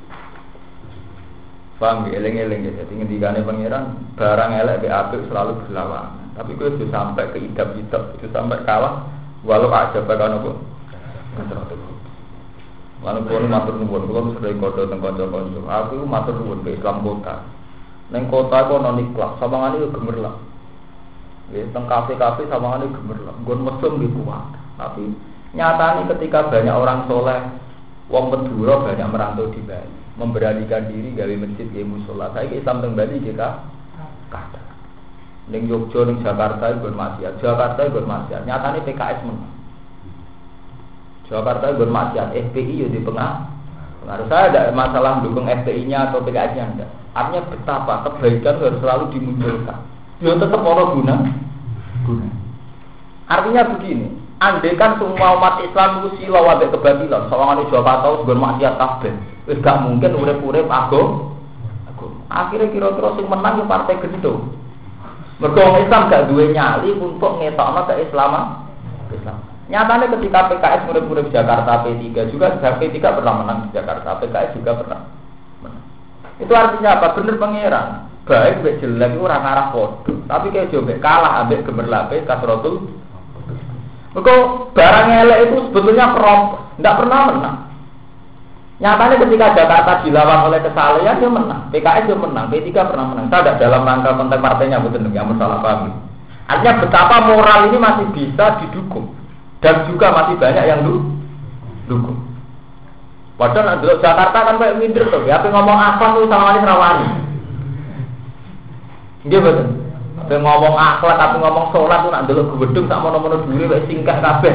Paham ya, eleng-eleng ya. Jadi ngendikane pangeran barang elek be apik selalu berlawanan. Tapi kowe itu sampai ke idap-idap, itu sampai kalah walau aja bakal nopo. Lalu kulo matur nuwun, kulo sering kodo teng kanca-kanca. Aku matur nuwun ke Islam kota. Neng kota kok non ikhlas, sawangane yo gemerlap. Nggih, teng kafe-kafe sawangane gemerlap. Nggon mesum nggih kuat. Tapi nyatanya ketika banyak orang soleh, wong Madura banyak merantau di Bali, memberanikan diri gawe masjid gawe musala. Saiki Islam teng Bali jika kada. Ning Yogyakarta, ning Jakarta nggon maksiat. Jakarta nggon maksiat. Nyatane PKS menang. Jakarta bermaksiat, FPI ya di pengaruh. Saya ada masalah mendukung FPI-nya atau PKS-nya enggak. Artinya betapa kebaikan harus selalu dimunculkan. Ya tetap orang guna. Artinya begini, andaikan semua umat Islam itu silau wabe kebatilan, sawangan Jakarta bermaksiat kabeh, wis gak mungkin urip-urip agama. Akhirnya kira-kira sing menang ya partai gendho. Mergo Islam gak duwe nyali untuk ngetokno keislaman. Islam. Nyatanya ketika PKS murid-murid Jakarta P3 juga P3 pernah menang di Jakarta, PKS juga pernah menang. Itu artinya apa? Bener pangeran. Baik mbek jelek itu ora ngarah padha. Tapi kayak coba kalah ambek gemerlape kasrotul. Mergo barang elek itu sebetulnya ndak pernah menang. Nyatanya ketika Jakarta dilawan oleh kesalehan dia menang, PKS dia menang, P3 pernah menang. Saya tidak dalam rangka konteks partainya, betul yang masalah paham. Artinya betapa moral ini masih bisa didukung dan juga masih banyak yang dukung. Padahal dulu Jakarta kan kayak minder tuh, ya ngomong akhlak tuh sama ini rawani. Dia betul. Tapi ngomong akhlak, tapi ngomong sholat tuh nak dulu gedung sama nomor dulu kayak singkat kabeh.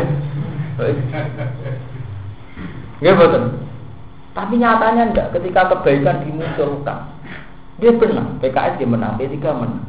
Dia betul. Tapi nyatanya enggak, ketika kebaikan dimunculkan dia menang, PKS dia menang, P3 menang.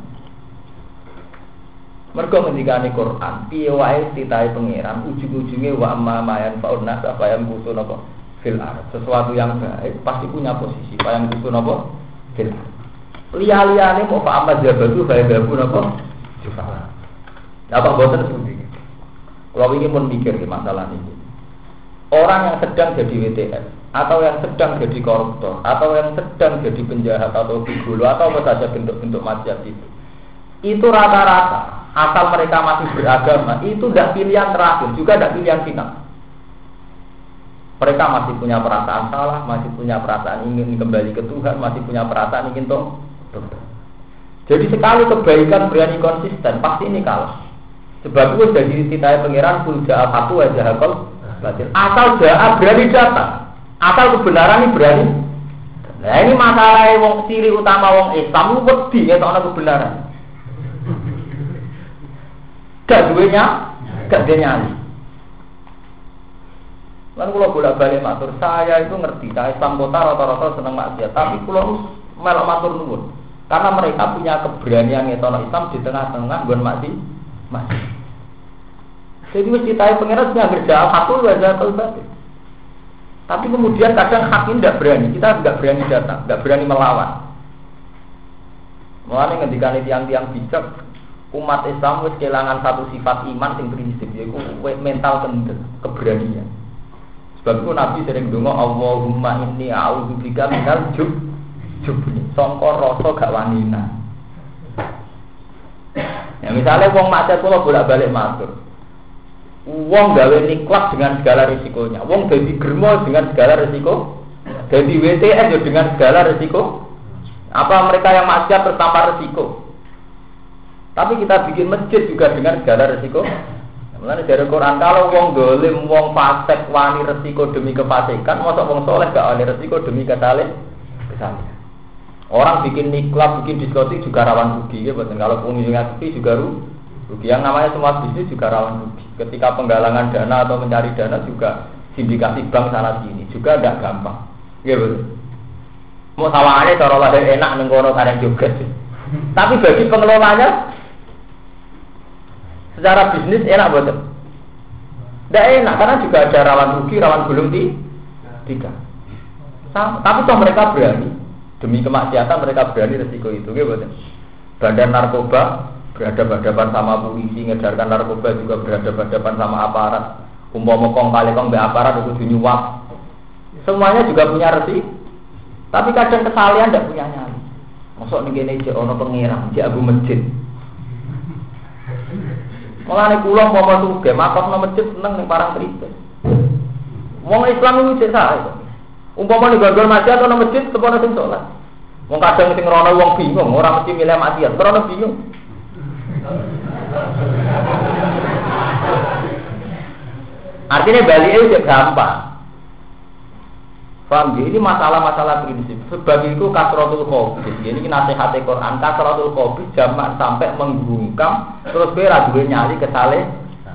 Mergo ngendikane Quran, piye wae titahe pangeran ujung-ujunge wa amma mayan fauna apa yang butuh napa fil ard. Sesuatu yang baik pasti punya posisi, apa yang butuh napa fil ard. Liya-liyane mau fa amma jabatu fa yabu napa jufa. Apa boten seperti ini. Kalau ingin memikir masalah ini. Orang yang sedang jadi WTF atau yang sedang jadi koruptor atau yang sedang jadi penjahat atau gigolo atau apa saja bentuk-bentuk maksiat itu rata-rata asal mereka masih beragama itu tidak pilihan terakhir juga tidak pilihan final. Mereka masih punya perasaan salah, masih punya perasaan ingin kembali ke Tuhan, masih punya perasaan ingin tobat. Jadi sekali kebaikan berani konsisten pasti ini kalah. Sebab itu jadi titah pangeran kulja satu aja hakol batil. Asal jahat berani datang. Asal kebenaran ini berani. Nah ini masalah wong ciri utama wong Islam wedi ngetokno kebenaran. Gak duwenya, gak dia nyali. Lalu kalau bolak-balik matur, saya itu ngerti, saya Islam kota rata-rata seneng maksiat, tapi kalau melok matur nuwun, karena mereka punya keberanian ngetokno Islam di tengah-tengah gon maksiat. Jadi mesti tahu pengiran sudah kerja satu wajah batin. Tapi kemudian kadang hakim tidak berani, kita tidak berani datang, tidak berani melawan. Mulane ngendikane tiang-tiang bijak, umat Islam wis kehilangan satu sifat iman sing prinsip yaiku mental kendel, keberanian. Sebab itu Nabi sering ndonga Allahumma inni a'udzubika minal jubni. Sangka rasa gak wanina. Ya misalnya wong maksiat kula bolak-balik matur. Wong gawe niklat dengan segala risikonya. Wong dadi germo dengan segala risiko. Dadi WTS ya dengan segala risiko. Apa mereka yang maksiat tanpa risiko? Tapi kita bikin masjid juga dengan segala risiko. Mulane dari Quran kalau wong dolim, wong fasik wani risiko demi kefasikan, mosok wong soleh gak wani risiko demi kesalahan. Orang bikin niklat, bikin diskotik juga rawan rugi ya, betul. Kalau pengunjungnya sepi juga rugi. Yang namanya semua bisnis juga rawan rugi. Ketika penggalangan dana atau mencari dana juga sindikasi bank sana sini juga tidak gampang. Ya betul. Mau sawangannya cara lahir enak nengkono kareng juga. Tapi bagi pengelolanya secara bisnis enak betul. Tidak enak karena juga ada rawan rugi, rawan gulung tiga. Tapi toh mereka berani demi kemaksiatan mereka berani resiko itu, gitu. Badan narkoba berhadapan-hadapan sama polisi, ngedarkan narkoba juga berhadapan-hadapan sama aparat. Umpama kong kali kong be aparat itu nyuap. Semuanya juga punya resiko. Tapi kadang kesalahan tidak punya nyali. Masuk nih gini aja, ono pengirang, di abu masjid. Malah nih pulang mau masuk ke makam no masjid seneng nih parang cerita. Wong Islam itu cek saya. Umpama nih gandol masjid atau no masjid, semuanya sing sholat. Wong kadang sing rono wong bingung, orang mesti milih maksiat, rono bingung. Artinya balik itu gampang. Paham ya? Ini masalah-masalah prinsip. Sebab itu kasratul khobi. Ini nasihat Quran. Kasratul khobi jamak sampai menggungkam. Terus kira duwe nyali kesalahan.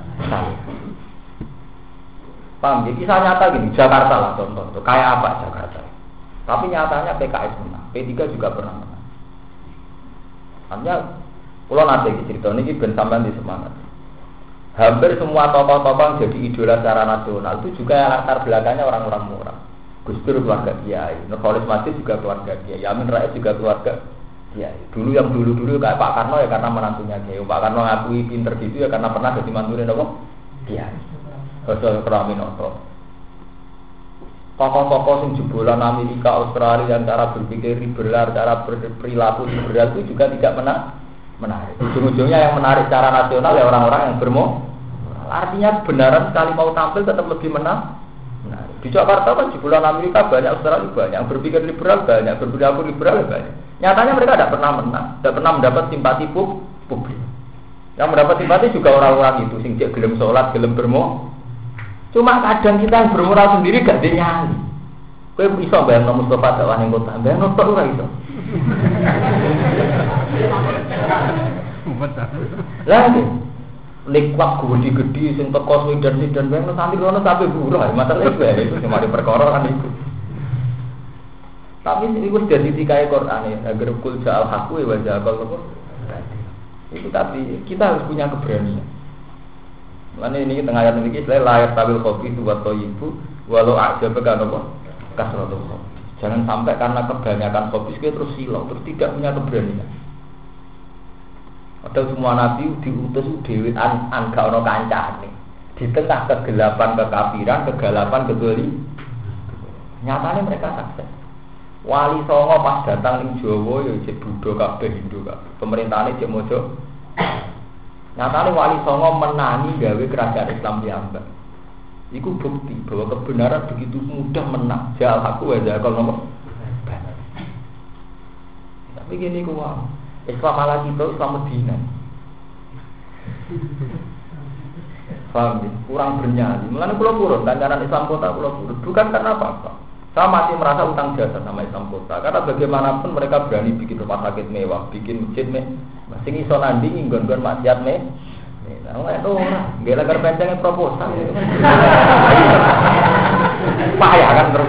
Paham ya? Kisah nyata gini. Jakarta lah contoh. Kayak apa Jakarta? Tapi nyatanya PKS menang. P3 juga pernah menang. Artinya kalau nanti cerita ini ben sampean di semangat. Hampir semua tokoh-tokoh jadi idola secara nasional itu juga latar belakangnya orang-orang murah. Gus Dur keluarga Kiai, Nurholis Masjid juga keluarga Kiai, Amin Rais juga keluarga Kiai. Dulu yang dulu kayak Pak Karno ya karena menantunya Kiai. Pak Karno ngakui pinter gitu ya karena pernah jadi mantunya apa? kiai. Basa Kraminoto. Tokoh-tokoh yang jebolan Amerika, Australia yang cara berpikir liberal, cara berperilaku liberal itu juga tidak menarik. Ujung-ujungnya yang menarik secara nasional ya orang-orang yang bermoral. Artinya kebenaran sekali mau tampil tetap lebih menarik. Di Jakarta kan jebolan Amerika banyak, Australia banyak, yang berpikir liberal banyak, berperilaku liberal banyak. Nyatanya mereka tidak pernah menang, tidak pernah mendapat simpati publik. Yang mendapat simpati juga orang-orang itu, sing cek gelem sholat, gelem bermo. Cuma kadang kita yang bermoral sendiri gak dinyali. Kowe iso bayangno Mustafa dakwah ning kota, bayangno tok ora iso. Lah likwak gede-gede sing teko Sweden bayangno santri rono sampe buruh, masalah itu cuma di perkara kan itu. Tapi itu sudah ditikai Quran ya, agar kul ja'al haqqu wa ja'al itu tapi kita harus punya keberanian. Mana ini tengah ayat ini saya layar tabil kopi itu buat ibu walau aja pegang apa kasrotul kopi. Jangan sampai karena kebanyakan kopi kita terus silau, terus tidak punya keberanian. Padahal semua nabi diutus dewi angka ono kancane di tengah kegelapan kekafiran, kegelapan kedoli. Nyatanya mereka sukses. Wali Songo pas datang ning Jawa ya cek Buddha kabeh Hindu kabeh. Pemerintahane cek mojo. Nyatane Wali Songo menangi gawe kerajaan Islam piyambak. Iku bukti bahwa kebenaran begitu mudah menang. Jal aku aja kalau nomor. Tapi gini kuwi. Islam ala kita Islam Medina. Paham ya? Kurang bernyali. Mulane kula purun kancanan Islam kota kula purun. Bukan karena apa-apa. Saya masih merasa utang jasa sama Islam kota. Karena bagaimanapun mereka berani bikin rumah sakit mewah, bikin masjid mewah. Sing iso nandingi nggon-nggon maksiat mewah. Nah, itu ora. Nggih lagar pencenge proposal itu. Payah kan terus.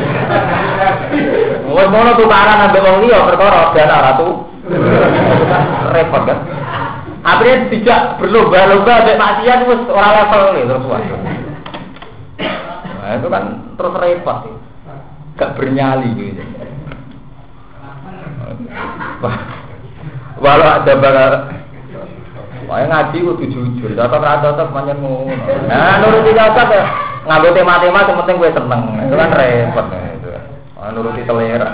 Wong ngono tukaran ambek wong liya perkara dana ratu. Repot kan. Akhirnya tidak berlomba-lomba ambek maksiat wis ora level terus wae. Nah, itu kan terus repot sih. Gak bernyali gitu. Walau ada bakal wah ngaji kudu jujur, cocok pancen ngono. Nah, nuruti cocok ya. Nganggo tema-tema sing penting kowe seneng. Itu kan repot itu. Nuruti selera.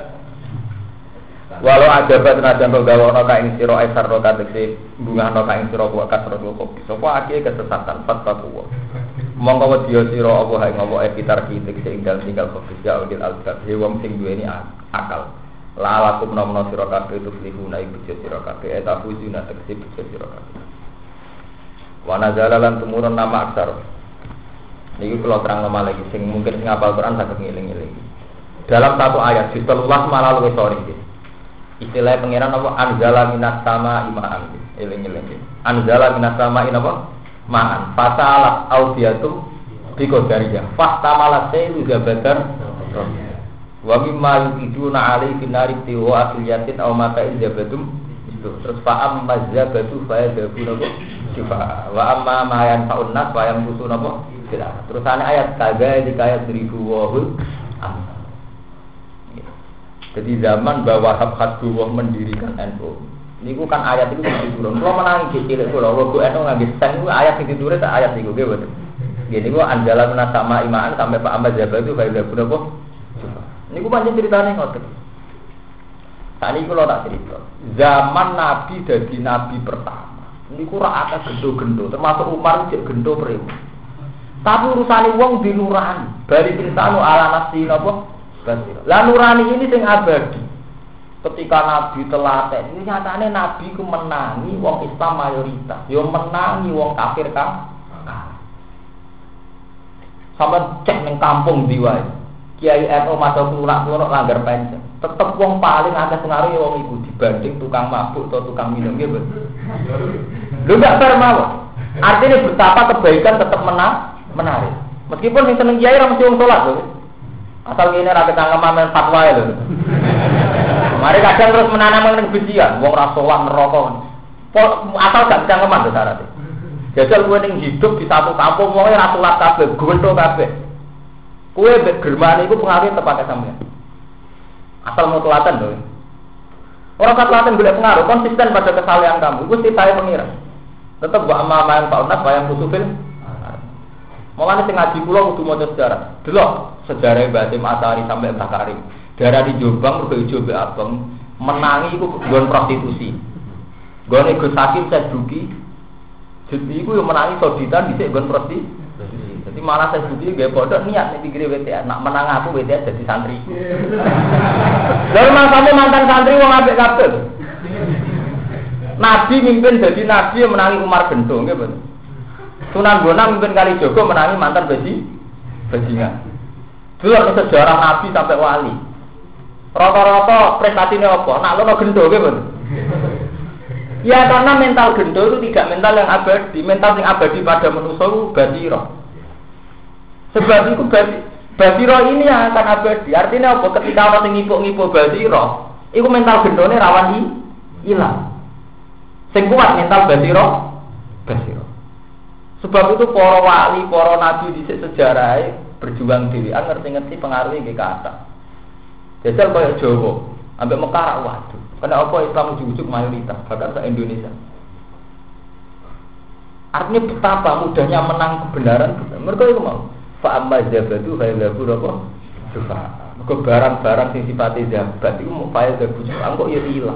Walau ada batnajan kok gawono ka ing sira esar ro kategori bungahno ka ing sira kok kasro kok. Sapa akeh kesesatan fatwa. Monggo wedya sira apa hae ngopo epitar kitik sing tinggal fokusya udil albat wong sing duweni akal. La lakum nomno sira kabeh tuflihuna iku sira kabeh eta fuzuna tekse sira kabeh. Wa nazala lan tumurun nama aksar. Niki kula terang lagi sing mungkin sing hafal Quran saged ngeling-eling. Dalam satu ayat di 13 malah luwih sore iki. Istilah pangeran apa anzala minas sama imaan. Eling-eling. Anzala minas sama apa? Ma'an fatalat audiyatu biqadariyah fahtamalat sayru zabadar wa mimma yukiduna alaihi binari tiwa asliyatin aw mata izabadum itu terus fa'am mazabatu fa'adabuna syifa wa amma ma yanfa'un nas wa yamkusuna terus ayat kaga dikaya 1000 wahul jadi zaman bahwa Wahab Khadduwah mendirikan NU niku kan ayat itu diturun. Kalau menangi cilik kula, kalau NU ngangge sen niku ayat iki diturun tak ayat niku nggih mboten. Nggih niku andalan menasama imaan sampai Pak Ahmad Jabar itu faedah berapa? Niku pancen ceritane ngoten. Tadi kula tak cerita. Zaman Nabi dadi nabi pertama. Niku ora akeh gendo-gendo, termasuk Umar cek gendo premu. Tapi urusane wong dinurani, bari insanu ala nafsi napa? Lah nurani ini sing abadi. Ketika Nabi telaten, ini nyatane Nabi ku menangi wong Islam mayoritas, yo menangi wong kafir kan. Sampe cek ning kampung ndi wae. Kiai NU masuk kelurahan langgar penceng. Tetep wong paling akeh pengaruh wong iku dibanding tukang mabuk atau tukang minum nggih, Bos. Lho gak fair mawon. Artinya betapa kebaikan tetap menarik. Meskipun sing seneng kiai ora mesti wong salat lho. Asal ngene ra ketangkeman fatwa lho. Mari kadang terus menanam kebencian, wong ra salat neraka. Asal gak ketangkeman to syaratnya. Jajal kowe ning hidup di satu kampung wong ora salat kabeh, gonto kabeh. Kowe mbek germane iku pengaruh tepake sampeyan. Asal mau telaten lho. Orang telaten golek pengaruh konsisten pada kesalehan kamu. Iku sitahe pengira. Tetep wa amma ma'an fa'unnas wa yang kusufil Mulane sing ngaji kula kudu maca sejarah. Delok sejarah Mbah Hasyim Asari sampai Mbah Karim. Daerah di Jombang mergo ijo mbek abang menangi iku nggon prostitusi. Nggone Gus Hakim Saduki. Jadi iku yo menangi soditan dhisik nggon prostitusi. Jadi malah Saduki nggih pondok niat nek pikire WTA nak menang aku WTA jadi santri. Lalu mangkane mantan santri wong apik kabeh. Nabi mimpin jadi nabi yang menangi Umar Gento nggih bener. Sunan Bonang mimpin Kalijogo menangi mantan bajingan. Dulu sejarah nabi sampai wali. Rata-rata prestasinya apa? Nak lono Gento nggih bener. Ya karena mental Gento itu tidak mental yang abadi, mental yang abadi pada manusia itu basiro. Sebab itu basiro ini yang akan abadi. Artinya apa? Ketika orang yang ngipuk-ngipuk basiro, itu mental Gentone rawan hilang. Sing kuat mental basiro. Sebab itu para wali, para nabi di sejarah berjuang dhewean ngerti-ngerti pengaruhnya ke kata. Jajal kaya Jawa, ambek Mekah waduh. Karena apa Islam ujug-ujug mayoritas, bahkan se Indonesia. Artinya betapa mudahnya menang kebenaran. Mereka itu mau. Fa amma zabadu fa yadhu apa? Sufa. Mergo barang-barang sing sifate zabat iku mau fa yadhu sufa kok ya ilang.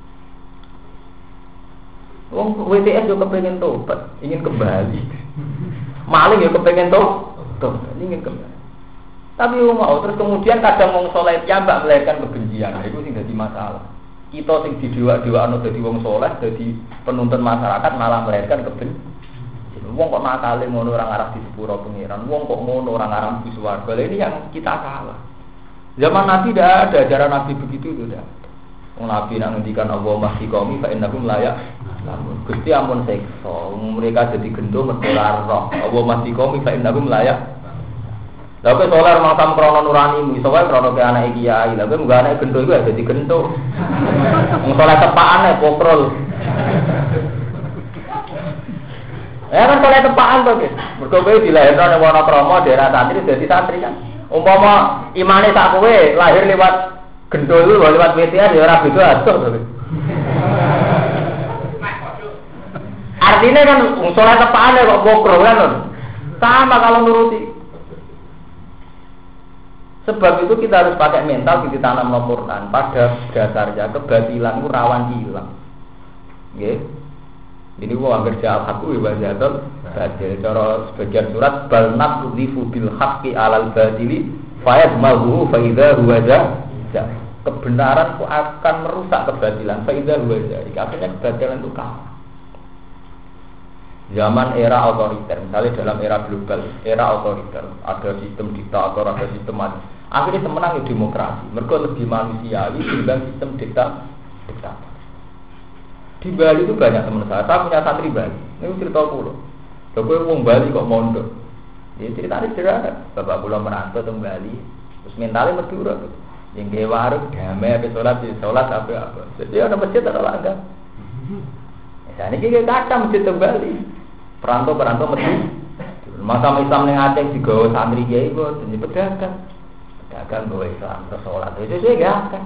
Wong WTS yo kepengen tobat, ingin kembali. Maling yo kepengen tobat, ingin kembali. Tapi mau terus kemudian kadang wong saleh piyambak melahirkan kebencian. Nah, itu sing dadi masalah. Kita sing didewa-dewakno dadi wong saleh, dadi penuntun masyarakat malah melahirkan kebencian. Wong kok nakale ngono ora ngarah di sepuro pengiran. Wong kok ngono ora ngarah di swarga. Ini yang kita salah. Zaman Nabi tidak ada ajaran Nabi begitu itu tidak. Wong Nabi nak ngendikan Allah masih qaumi fa innahum layak. Gusti ampun seksa. Mereka jadi gendho mergo roh. Allah masih qaumi fa innahum layak. Lha kok solar makam krono nuranimu, iso wae krono ke anake kiai. Lha kok munggah anake gendho iku dadi gendho. Wong saleh tepakane pokrol. Ya kan saleh tepakan to, Guys. Mergo kowe dilahirno ning Wonokrama daerah santri dadi santri kan. Umpama imane sak kowe lahir lewat gendho iku lewat WTA ya ora beda atuh to. Artinya kan wong saleh tepakane kok pokrol kan. Sama kalau nuruti. Sebab itu kita harus pakai mental di tanam Al-Quran. Pada dasarnya kebatilan itu rawan hilang. Nggih. Ini gua kerja al-haqu wa bajatul batil. Cara sebagian surat bal naqdhifu bil haqqi 'alal batili fayadmaghu fa idza huwa jahil. Kebenaran itu akan merusak kebatilan. Fa idza huwa jahil. Akhirnya kebatilan itu kalah. Zaman era otoriter, misalnya dalam era global, era otoriter, ada sistem diktator, ada sistem akhirnya semenang demokrasi. Mereka lebih manusiawi dibanding sistem diktator. Di Bali itu banyak teman saya punya santri Bali. Ini cerita pulau. Kalau orang Bali kok mondok, dia ceritanya sederhana. Bapak pulau merantau ke Bali, terus mentalnya berdua. Yang kayak warung, damai, sholat apa. Jadi ada masjid ada langgar. Misalnya kita kata masjid ke Bali. Perantau mesti masa Islam yang Aceh juga santri kiai kok jadi pedagang bawa Islam sholat itu saya gak akan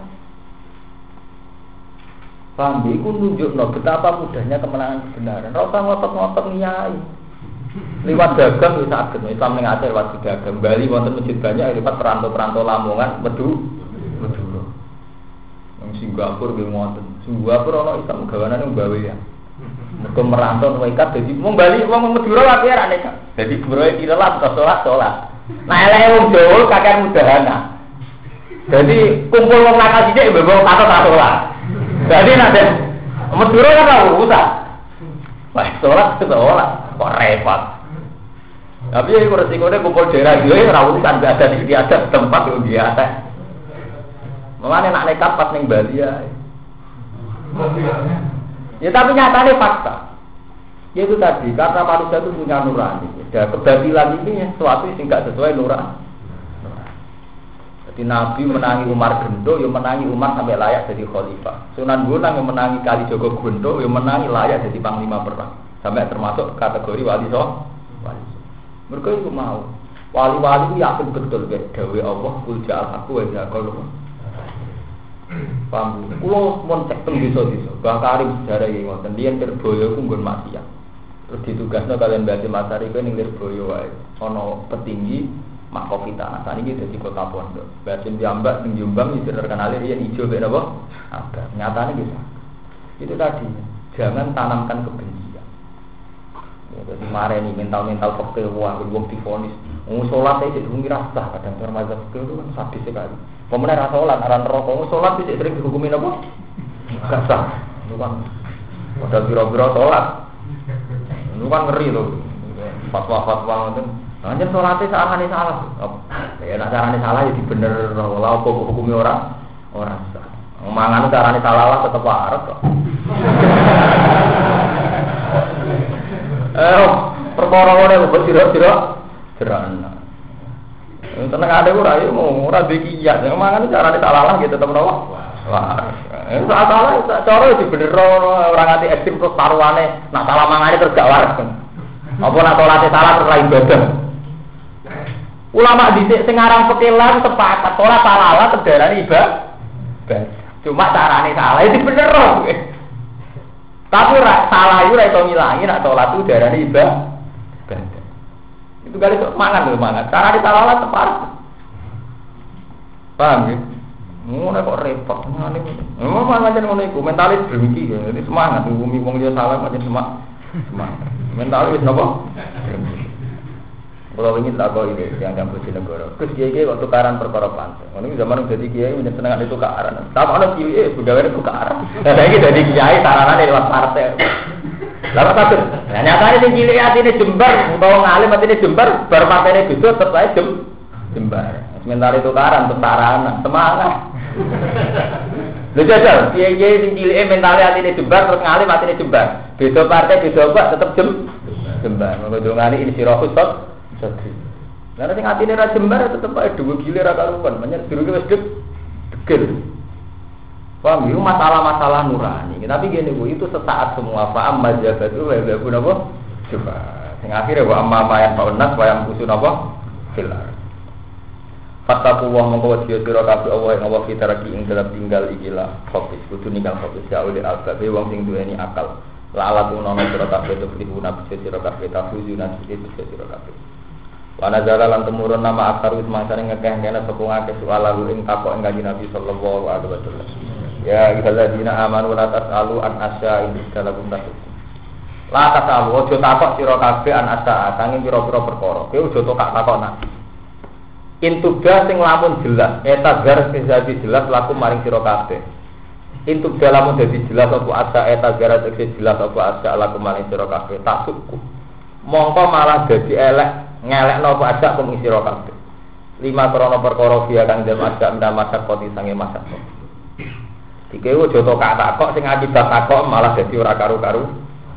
paham itu nunjukno betapa mudahnya kemenangan kebenaran. Rasa ngotot-ngotot nyai lewat dagang bisa agak Islam yang Aceh lewat dagang Bali wonten masjid banyak lewat perantau Lamongan Meduro yang Singapura nggih wonten Singapura ana Islam gawanan yang gawe ya. Mereka merantau nekat, jadi mau balik, mau Madura lagi ya nekat. Jadi beroi kiralah sholat. Nah, elek wong Jawa kakek mudahana. Jadi kumpul wong nakal sithik mbok kata sholat. Jadi nanti Madura kan ora urusan. Wah, sholat kok repot. Tapi ya resikonya kumpul daerah iki ora urusan ada di adat tempat yo biasa. Mulane nek nekat pas ning Bali ya. Ya tapi nyatanya fakta. Yaitu tadi karena manusia itu punya nurani. Dan kebatilan ini sesuatu yang tidak sesuai nurani. Jadi Nabi menangi Umar Gento, yang menangi Umar sampai layak jadi khalifah. Sunan Bonang yang menangi Kalijogo Gento, yang menangi layak jadi panglima perang. Sampai termasuk kategori wali so. Mereka itu mau. Wali-wali itu yakin betul dawe Allah kul ja'al haqqu wa ja'al paham. Kulo mon cek teng desa-desa. Bang Karim sejarah iki ngoten, liyan Terboyo ku nggon maksiat. Terus ditugasno kalian Mbah Masari kuwi ning Lirboyo wae. Ana petinggi Makofita. Saniki dadi kota pondok. Mbah Jambak ning Jombang iki terkenal yen ijo mek napa? Abang. Nyatane gitu. Itu tadi, jangan tanamkan kebencian. Ya, jadi mareni mental-mental fakir wah wong divonis. Wong salat iki durung rasa kadang termazhab itu kan sadis sekali. Pemenang ra salat aran neraka, wong salat iki sering dihukumi napa? Gak sah. Itu kan padahal biro-biro salat. Itu kan ngeri loh. Fatwa-fatwa ngoten. Anjen salate sakane salah. Ya nek carane salah ya dibener ora apa hukumi ora sah. Mangan carane salah lah tetep arep kok. Perkara ngene kok sira-sira jerana. Tenang ade ora yo ora dikiyat. Mangan carane salah lah gitu tetep napa? Wah. Salah cara dibener ora nganti ekstrem terus taruhane nak salah mangane terus gak waras. Apa nak salate salah terus lain ibadah. Ulama dhisik sing aran pekelan sepakat ora salah terdarani ibadah. Cuma carane salah itu bener loh. Tapi salah itu ora iso ngilangi nek salat itu darane ibadah. Itu kali sok mangan lho mangan. Carane salah tepat. Paham ya? Ngono kok repot. Memang macam ngono iku mentalis drengki ya. Ini semangat ngumi wong liya salah macam semangat. Mentalis napa? Kalau ingin tak kau ini yang Bojonegoro. Terus kiai waktu tukaran perkara pantai. Ini zaman jadi kiai menyenangkan itu tukaran. Tapi ada kiai sudah ada tukaran. Dan ini jadi kiai saranan lewat partai. Lalu satu. Nah nyatanya si kiai hati ini Jember. Kalau ngalim hati ini Jember. Baru partai ini gitu setelah Jember. Sementara itu tukaran tentara semangat. Lu jajal kiai si kiai mentalnya hati ini Jember terus ngalim hati ini Jember. Beda partai beda apa tetap Jember. Maka dongani ini sirahus tot. Jadi, karena sing atine ra jembar tetep ae dhuwur gile ra karuan, menyang durunge wis degel. Paham yo masalah-masalah nurani. Tapi gini Bu, itu sesaat semua fa'am majabatu wa yabu napa? Coba. Sing akhire wa amma mayan fa'unas wa yang usun apa? Filar. Fattaku wa mongko wasiya sira kabeh Allah ing Allah fitaraki ing dalam tinggal ikilah fokus kudu ninggal fokus ya oleh albabe wong sing duweni akal. La ala tunono sira kabeh to pribuna bisa sira kabeh tafuzuna bisa sira kabeh. Wana jala lan temurun nama akar wis mangsane ngekeh kene sapa ngake soal lalu ing takok ing Kanjeng Nabi sallallahu alaihi wasallam. Ya ibadina amanu la tasalu an asya ing dalem tasuk. La tasalu ojo takok sira kabeh an asya sanging pira-pira perkara. Kowe ojo takok nak. Intubda sing lamun jelas, eta gar sing dadi jelas laku maring sira kabeh. Intubda lamun dadi jelas apa asya eta gar sing jelas apa asya laku maring sira kabeh tasukku. Mongko malah dadi elek ngelekno apa ajak kum isi kabeh. 5 krana perkara dia kang dem ajak ndak masak koti sange masak. Dikewu aja tok takok sing akibat takok malah dadi ora karu-karu.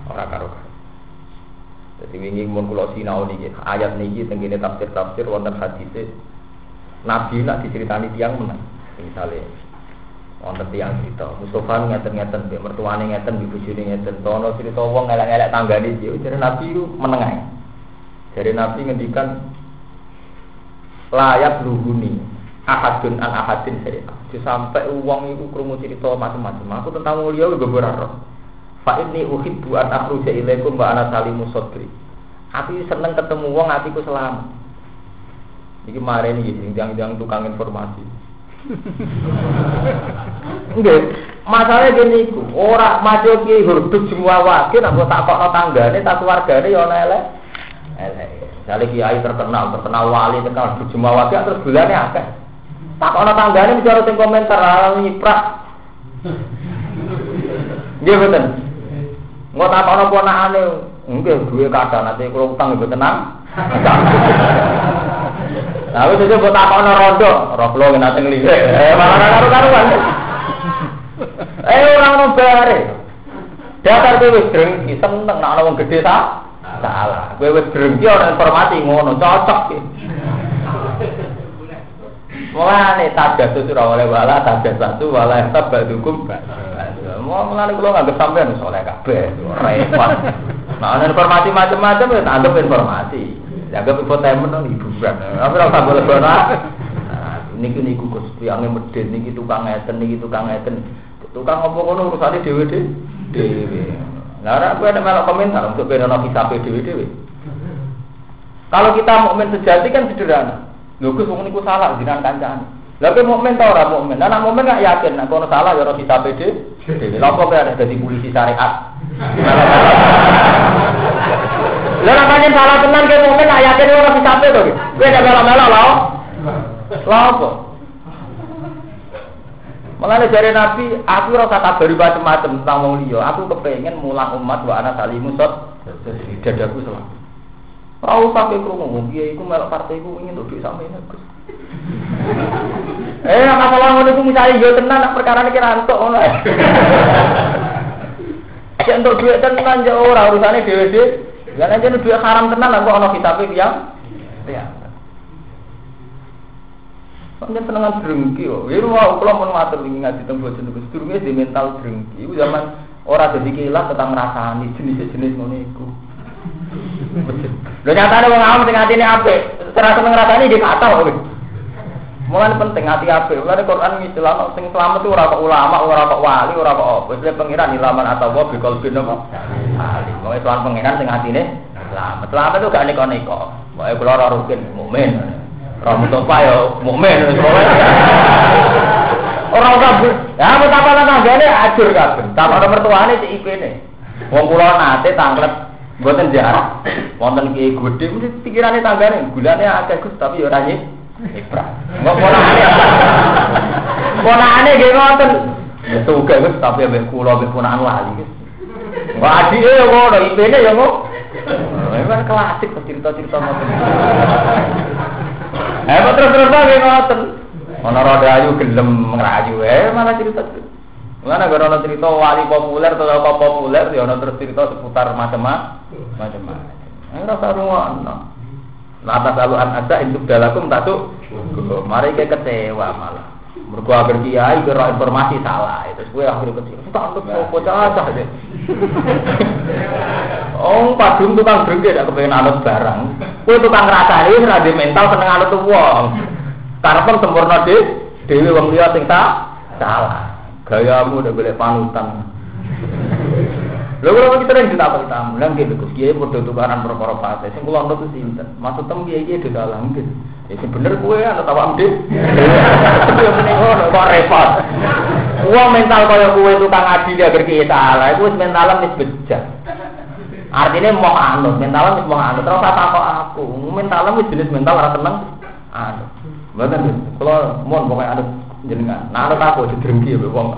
Dadi wingi mun kula sinau niki ayat niki teng kene tafsir wonten hadis Nabi nak diceritani tiyang meneng. Misale wonten tiyang cerita Mustofa ngeten-ngeten mbek mertuane ngeten mbek bojone ngeten tono cerita wong elek-elek tanggane iki jare Nabi ku meneng ae. Dari Nabi ngendikan layak luhuni ahadun an ahadin saya. Sampai uang itu krungu cerita macam-macam. Aku tentang mulia beberapa. Fa inni uhibbu an akhruja ilaikum wa ana salimu sadri. Aku seneng ketemu wong atiku selamat. Iki mareni iki jangan tukang informasi. Nggih, masalahnya gini iku, ora maca ki hurduk semua wae nek tak kokno tanggane, tak keluargane ya ana elek. Jale kiai terkenal wali terkenal jemaah wali terus bulane akeh. Tak ana tanggane bicara sing komentar nyiprak. Nggih mboten. Engko tak ana ponakane, nggih duwe kadang ate kula utang mboten tenang. Lah wis aja mbok tak ana rondo, ora kula nate nglirik. Malah karo-karuan. Ora ono bare. Datar kowe wis drengki seneng nek ana wong gedhe ta? Salah. Kowe wis drengki ora informasi ngono, cocok iki. Mulane tajasus ora oleh wala tajasatu wala tabadukum. Mulane kula nganggep sampean soleh kabeh, repot. Nah, ana informasi macam-macam ya anggap informasi. Dianggap infotainment nang hiburan. Apa ora usah boleh-boleh. Niku Gus piange medhen niki tukang ngeten. Tukang apa ngono urusane dhewe. Lah aku ada melok komentar untuk benono kisah dhewe-dhewe. Kalau kita mukmin sejati kan sederhana. Lho Gus wong niku salah jenengan kancane. Lah kowe mukmin ta ora mukmin? Lah nek mukmin gak yakin nek kono salah ya ora hisabe dhewe. Lha kok ada dadi polisi syariat. Lah nek pancen salah tenan kowe mukmin gak yakin ora hisabe to. Kowe nek melo-melo lho. Lha apa? Mulane jare Nabi, aku ora usah kabari macam-macam tentang wong liya. Aku kepengin mulang umat wa ana salimu sot dadaku selamat. Ora usah kowe krungu, piye iku melok partai iku ingin nduk sampeyan Gus. Masalah ngono iku misale yo tenan nek perkara iki ra entuk ngono. Nek entuk dhuwit tenan yo ora urusane dhewe-dhewe. Lah nek dhuwit haram tenan kok ana kitabe tiyang. Ya. Sampeyan senengan drengki yo. Ya kula mun matur wingi ngaji teng boten Gus, durunge di mental drengki. Iku zaman ora dadi kilat tetang ngrasani jenis-jenis ngono iku. Lho nyatane wong awam sing atine apik, ora seneng ngrasani nggih kathah kok. Mulane penting ati apik. Mulane Quran ngistilahno sing slamet itu ora kok ulama, ora kok wali, ora kok apa. Wis pengiran ilaman atau wa bikol bin apa. Ali. Wong Islam pengiran sing atine slamet. Slamet itu gak neko-neko. Pokoke kula ora rukin mukmin. Ora mutofa ya mukmin wis pokoke. Ora usah. Ya betapa tanggane ajur kabeh. Tamane mertuane cek IP-ne. Wong kula nate tanglet mboten jarak. Wonten ki gedhe mesti pikirane tanggane, gulane akeh Gus tapi ya ora ibrah. Engko ponakane nggih ngoten. Ya tuge Gus tapi ambek kula ambek ponakan wali Gus. Engko adike yo ngono, IP-ne yo ngono. Ini kan klasik cerita-cerita ngoten. Terus nggih ngoten. Ana rodayu gelem ngrayu malah cerita. Mana gara-gara cerita wali populer atau apa populer, ya ana terus cerita seputar macam-macam. Ora sarungokno. Lantas lalu ada induk dalakum tatuk. Mari ke kecewa malah. Mergo agar kiai kira informasi salah, itu kowe akhire kecewa. Tak antuk bocah deh. Padung tukang drengke dak kepengen anut barang. Kowe tukang ngrasani wis ra di mental seneng anut wong. Karepen sempurna dhewe wong liya sing salah. Gayamu udah boleh panutan. Lalu kita yang ditakut tamu, lagi Gus Kiai berdua tukaran perkara partai. Sing kula nurut sinten. Maksud tem Kiai di dalam gitu. Ya bener kowe ana tawam deh. Tapi yang penting kok repot. Wong mental kaya kowe tukang adil agar Kiai salah, iku wis mentalan wis bejat. Artinya mau anut, mentalan wis mau anut. Terus takok aku, mentalan wis jenis mental ora seneng anut. Mboten kula mohon pokoke anut jenengan. Nah ana aku didrengki ya wong.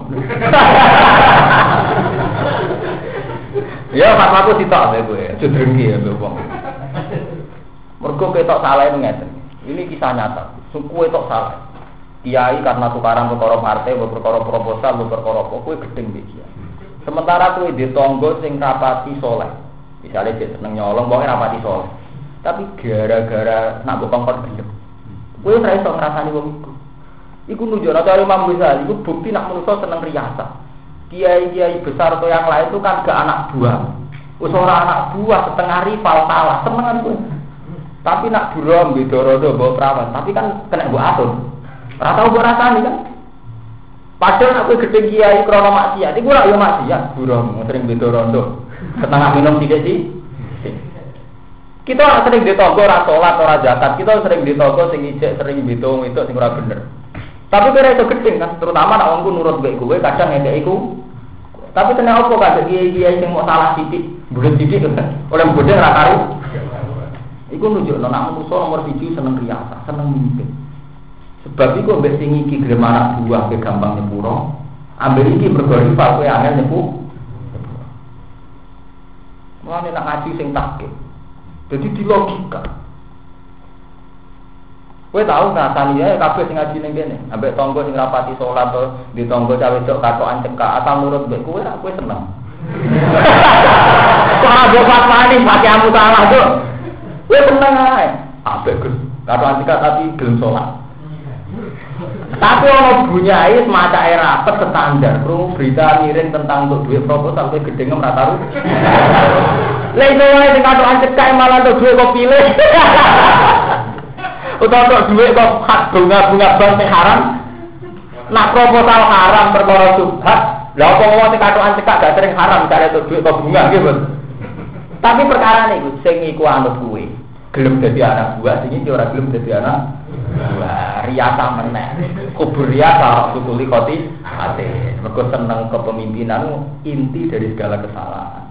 Ya fatwaku sitok ya kowe, didrengki ya wong. Mergo ketok salah ngeten. Ini kisah nyata. Suku ketok salah. Kiai karena tukaran perkara partai, perkara proposal, perkara apa kowe gedeng iki. Sementara kowe ditonggo sing rapati saleh. Misale cek seneng nyolong pokoke rapati saleh. Tapi gara-gara nak kongkon gendem. Kowe ora iso ngrasani wong iku. Iku nunjukno cara Imam Ghazali iku bukti nak manusa seneng riasa. Kiai-kiai besar atau yang lain itu kan gak anak buah. Wis ora anak buah setengah rival kalah, senengan kowe. Tapi nak burom bidorodo bawa perawan, tapi kan kena mbok atur. Ora tau mbok rasani kan. Padahal aku gedhe kiai krana maksiat, iku ora yo maksiat, burom sering bidorodo. Setengah minum sithik. Kita sering ditonggo ora salat ora zakat, kita sering ditonggo sing ijek sering bitung itu sing ora bener. Tapi kira itu gedeng kan, terutama nak wongku nurut baik gue, kadang ngekek iku. Tapi kena apa kadang kiai-kiai sing mau salah sithik, bulet sithik oleh bodhe ra karo. Iku nunjukno nak manusa nomor 1 seneng riasa, seneng mimpi. Sebab iku mbek sing iki gelem anak buah ke gampang nyepuro, ambil iki mergo rival kowe angel nyepu. Mulane nak ngaji sing takke. Jadi di logika. Kowe tahu ngrasani ya kabeh sing ngaji ning kene, ambek tangga sing rapati salat to, di tangga cawe wedok katokan cekak atau nurut mbek kowe ra kowe seneng. Kok ora mbok fatwani pati amu salah to. Kowe seneng ae. Ambek Gus, katokan cekak tapi gelem salat. Tapi ono bunyai semacam rapat standar, krungu berita miring tentang untuk duit proposal kowe gedenge ora tahu. Lha iso wae sing katokan cekak malah untuk duit kok pilih. Utawa duit kok hak bunga-bunga bank sing haram. Nak proposal haram perkara subhat, Lah apa ngomong katokan cekak gak sering haram cari duit atau bunga gitu. Tapi perkara niku sing iku anut kuwe. Gelem dadi anak buah sing iki ora gelem dadi anak buah. Riasa meneh. Kubur riasa kutuli koti ate. Mergo seneng kepemimpinan inti dari segala kesalahan.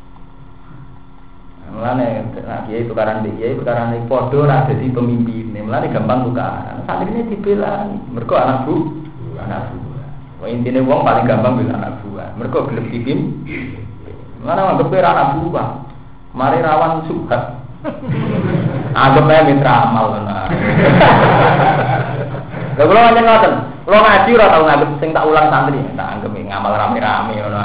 Mulane kiai tukaran kiai tukaran padha ora dadi pemimpin. Mulane gampang tukaran. Santrine dibelani. Mergo anak buah. Wah intine wong paling gampang bela anak buah. Mergo gelem dipimpin. Mana anggap anak buah. Mari rawan subhat. Anggap ae mitra amal tenan. Lha kula pancen ngoten. Kula ngaji ora tau nganggep sing tak ulang santri, tak anggap ngamal rame-rame ngono.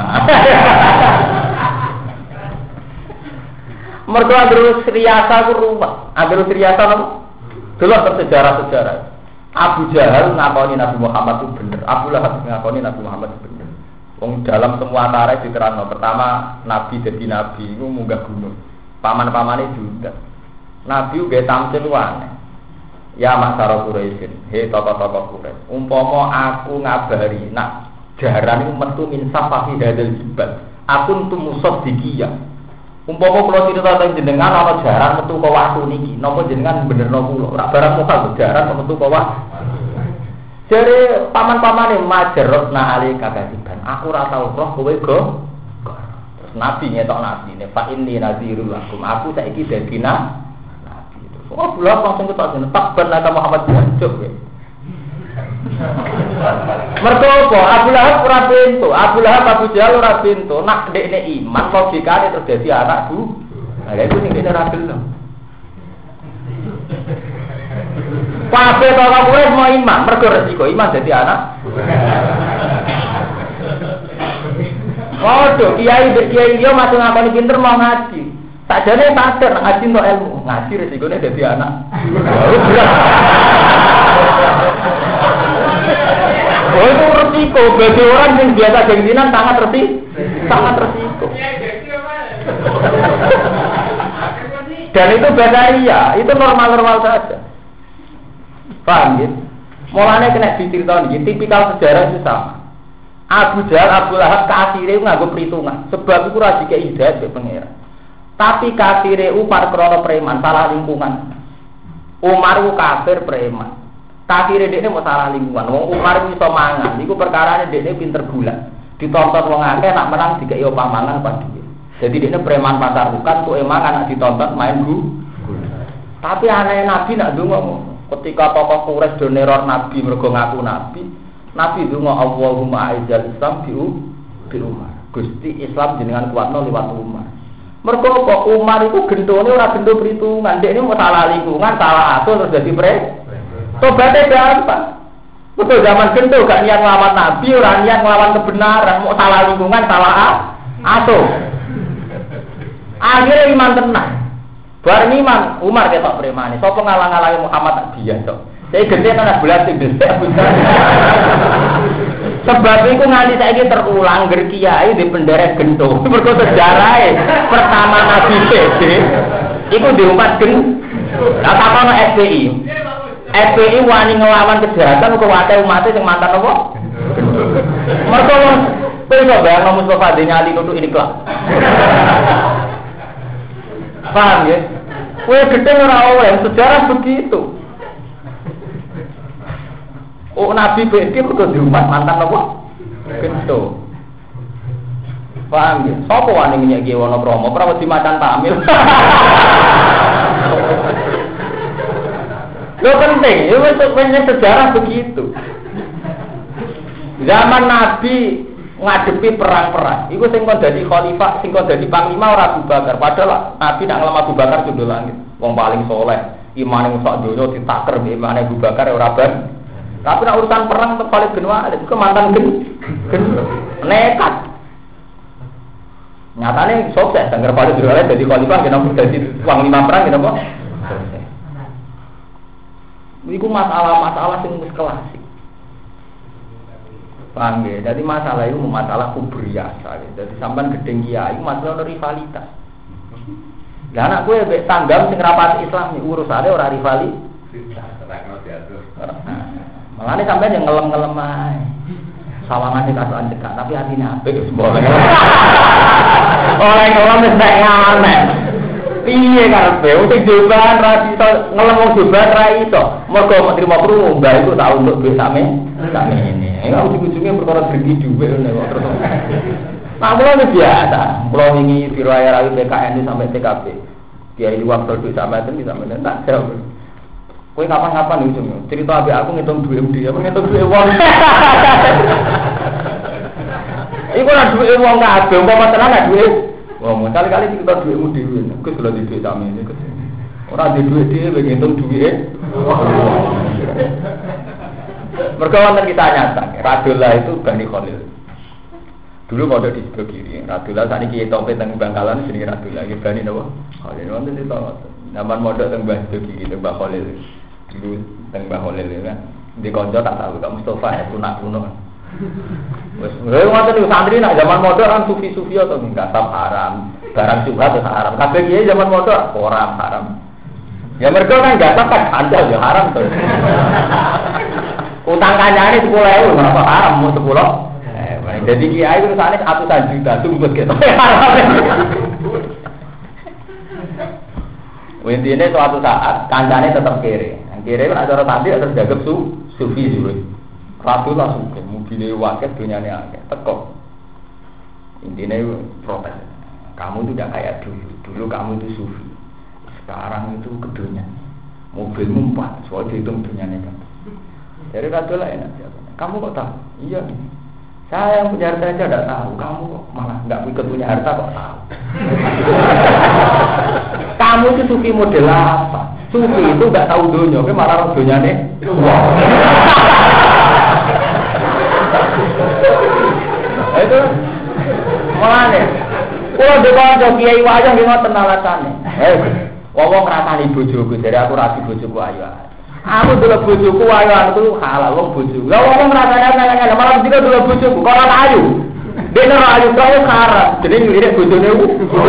Mergo terus riasa ku ruwet. Terus riasa napa? Delok sejarah-sejarah. Abu Jahal ngakoni Nabi Muhammad itu bener. Abu Lahab ngakoni Nabi Muhammad itu bener. Wong dalam semua tarikh diterangno. Pertama Nabi jadi Nabi itu munggah gunung. Paman-pamane juga. Nabi uga tampil aneh. Ya masyarakat Quraisy, he tokoh-tokoh Quraisy. Umpama aku ngabari nak jaran iku metu min safahi hadal jibal. Aku tumusad dikiyah. Umpama kula cerita teng jenengan ana jaran metu ka watu niki, napa jenengan benerno kula? Ora barang mokal jaran metu ka watu. Jare paman-pamane majarotna ali kagasiban. Aku ora tau roh kowe go. Terus Nabi ngetok Nabi, fa inni nazirul lakum. Aku saiki dadi nabi. Terus oh bulan langsung ketok jeneng takban nata Muhammad jancuk kowe. Mergo apa? Abu Lahab ora pintu, Abu Lahab Abu Jahal ora pintu. Nak ndekne iman logikane terus dadi anak bu. Lah iku sing dene ra gelem. Kabeh kok kowe mau iman, mergo resiko iman dadi anak. Waduh, kiai dia masih ngakoni pinter mau ngaji. Sakjane sadar ngaji untuk ilmu, ngaji resikone dadi anak. Oh itu resiko bagi orang yang biasa gengsinan sangat resiko. Dan itu basaria, itu normal-normal saja. Paham ya? Mulanya kena diceritakan, tipikal sejarah itu sama. Abu Jahal, Abu Lahab kafire nganggo perhitungan. Sebab itu ora dikei hidayah ke pangeran. Tapi kafire upar krana preman, salah lingkungan. Umar ku kafir preman. Kafire dekne mau salah lingkungan. Wong Umar iso mangan, iku perkarane dekne pinter gula. Ditonton wong akeh nak menang dikei opah mangan pas dhewe. Jadi dekne preman pasar bukan tuh emangan nak ditonton main gula. Tapi aneh Nabi nak ndonga ketika tokoh Quraisy do neror Nabi mergo ngaku Nabi ndonga Allahumma aizal Islam bi Umar. Gusti Islam jenengan kuatno liwat Umar. Mergo kok Umar iku gentone ora gento perhitungan, dekne mau salah lingkungan, salah atur terus dadi tobatnya gampang. Betul zaman gento gak niat ngelawan Nabi, ora niat ngelawan kebenaran, mau salah lingkungan, salah atur. Akhirnya iman tenang. Bareng iman, Umar ketok premane. Sapa ngalang-alangi Muhammad tak dia tok. Saya gede ana belas sing desek. Sebab iku nganti saiki terulang ger kiai di penderek gento. Mergo sejarahe pertama Nabi PD iku diumpat gen. Lah takono SPI. SPI wani ngelawan kejahatan kok wae umat sing mantan apa? Mergo kowe kok bayang Mustafa Denyali nutuk ini kelak. Paham ya? Kowe gedhe ora oleh sejarah begitu. Oh Nabi PD kok diumat mantan apa? Gento. Paham ya? Sapa wani nyek Wonokromo, ora wedi macan tamil. Lo penting, itu sejarah begitu. Zaman Nabi ngadepi perang-perang, itu sing kon dadi khalifah, sing kon dadi panglima ora Abu Bakar. Padahal Nabi nak ngelem Abu Bakar judul langit, wong paling soleh, imane sak donya ditaker imane Abu Bakar ora ben. Tapi nak urusan perang tetep paling benua, itu mantan nekat. Nyatane sukses, denger paling benua dadi khalifah kenapa dadi panglima perang kenapa? Iku masalah-masalah sing wis klasik. Paham ya? Jadi masalah itu masalah kubriasa. Jadi sampean gedeng kiai masalah rivalitas. Lah anak kowe mbek tanggam sing rapat Islam iki urusane ora rivalitas. Malane sampean yang ngelem-ngelem ae. Sawangan dikasukan cekak, tapi hatinya apik wis boleh. Oleh ngono wis nek aneh. Piye karepe sing joban ra iso ngelem wong joban ra iso. Mergo menerima krungu mbah iku tak untuk duit same ini. Ujung-ujungnya perkara rezeki dhuwit ngene kok terus. Nah, mulai biasa. Pulau ini biro air BKN sampai TKP. Kiai di waktu itu sampai itu bisa menentak jauh. Kue kapan-kapan ujungnya. Cerita abis aku ngitung duit dia, ngitung duit uang. Iku lah duit uang nggak ada, umpama tenan lah duit. Wah, kali-kali kita duitmu dewi. Aku sudah di duit kami ini. Orang di duit dia, ngitung duit. Mereka kita nyata. Radullah itu Bani Khalil. Dulu mau di sebelah kiri, Radullah saat ini kita sampai teng Bangkalan sini Radullah, kita ini apa? Khalil, nanti kita zaman modal teng sebelah kiri, teng Khalil, dulu teng Khalil kan, di konco tak tahu, Kak Mustafa ya punak. Wes, macam itu santri nak zaman modal kan sufi atau enggak haram, barang subhat atau haram, kabeh kiai zaman modal orang haram. Ya mereka kan enggak kan handal ya haram tuh. Utang kancane 10.000 kenapa haram mau 10? Jadi kiai itu misalnya 100 juta tumbus gitu. Intinya suatu saat kancane tetap kere. Kere kan acara tadi harus jaga sufi juga. Ratu langsung mobilnya wakil dunia ini agak tekok. Intinya protes. Kamu itu tidak kayak dulu. Dulu kamu itu sufi. Sekarang itu ke dunia. Mobilmu 4. Soalnya dihitung dunia ini kan. Jadi ratu lah enak. Kamu kok tahu? Iya. Saya yang punya harta aja tidak tahu, kamu kok malah nggak ikut punya harta kok tahu. Kamu itu sufi model apa? Sufi itu nggak tahu dunia, tapi malah tahu dunia nih. Wow. Itu malah nih. Kalau depan kiai wajah dia mau tenalasannya. Wong ngrasani bojoku, jadi aku rasi bojoku ayu. Aku dulu bojoku ayu itu halal wong bojoku. Lah wong ngrasane nang malah dina dulu bojoku kok ora ayu. Dene ora ayu kok haram. Jadi ngene bojone ku.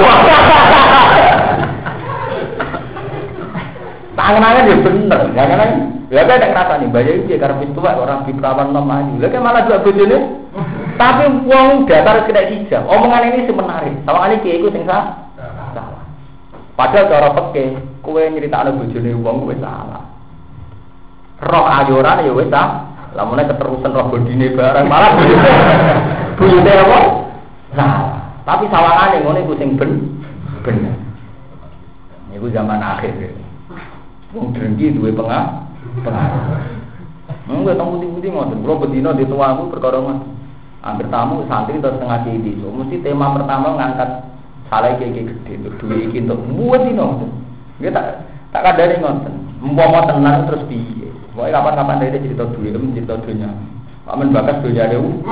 Tangan-tangan ya bener, jangan ya kan nek ngrasani bayi iki karep tuwa ora diprawan nom ayu. Lah kan malah dulu bojone. Tapi wong datar kena hijab. Omongan ini semenarik. Sawangane kiai iku sing salah. Padahal cara peke, kowe nyritakno bojone wong kowe salah. Roh ayoran ya wis ta. Lamune keterusan roh bodine barang malah buyute apa? Salah. Tapi sawangane ngene iku sing bener. Niku zaman akhir. Wong drengki duwe pengaruh. Enggak tahu putih-putih ngoten. Kulo bedino di tuaku perkara ngoten. Hampir tamu santri terus setengah di so, mesti tema pertama ngangkat salah kayak gede untuk duit iki untuk buat dino. Dia tak kadane ngoten. Umpama tenan terus piye? Pokoke kapan-kapan dia cerita duit, cerita dunya. Amen bakas dunya dewe.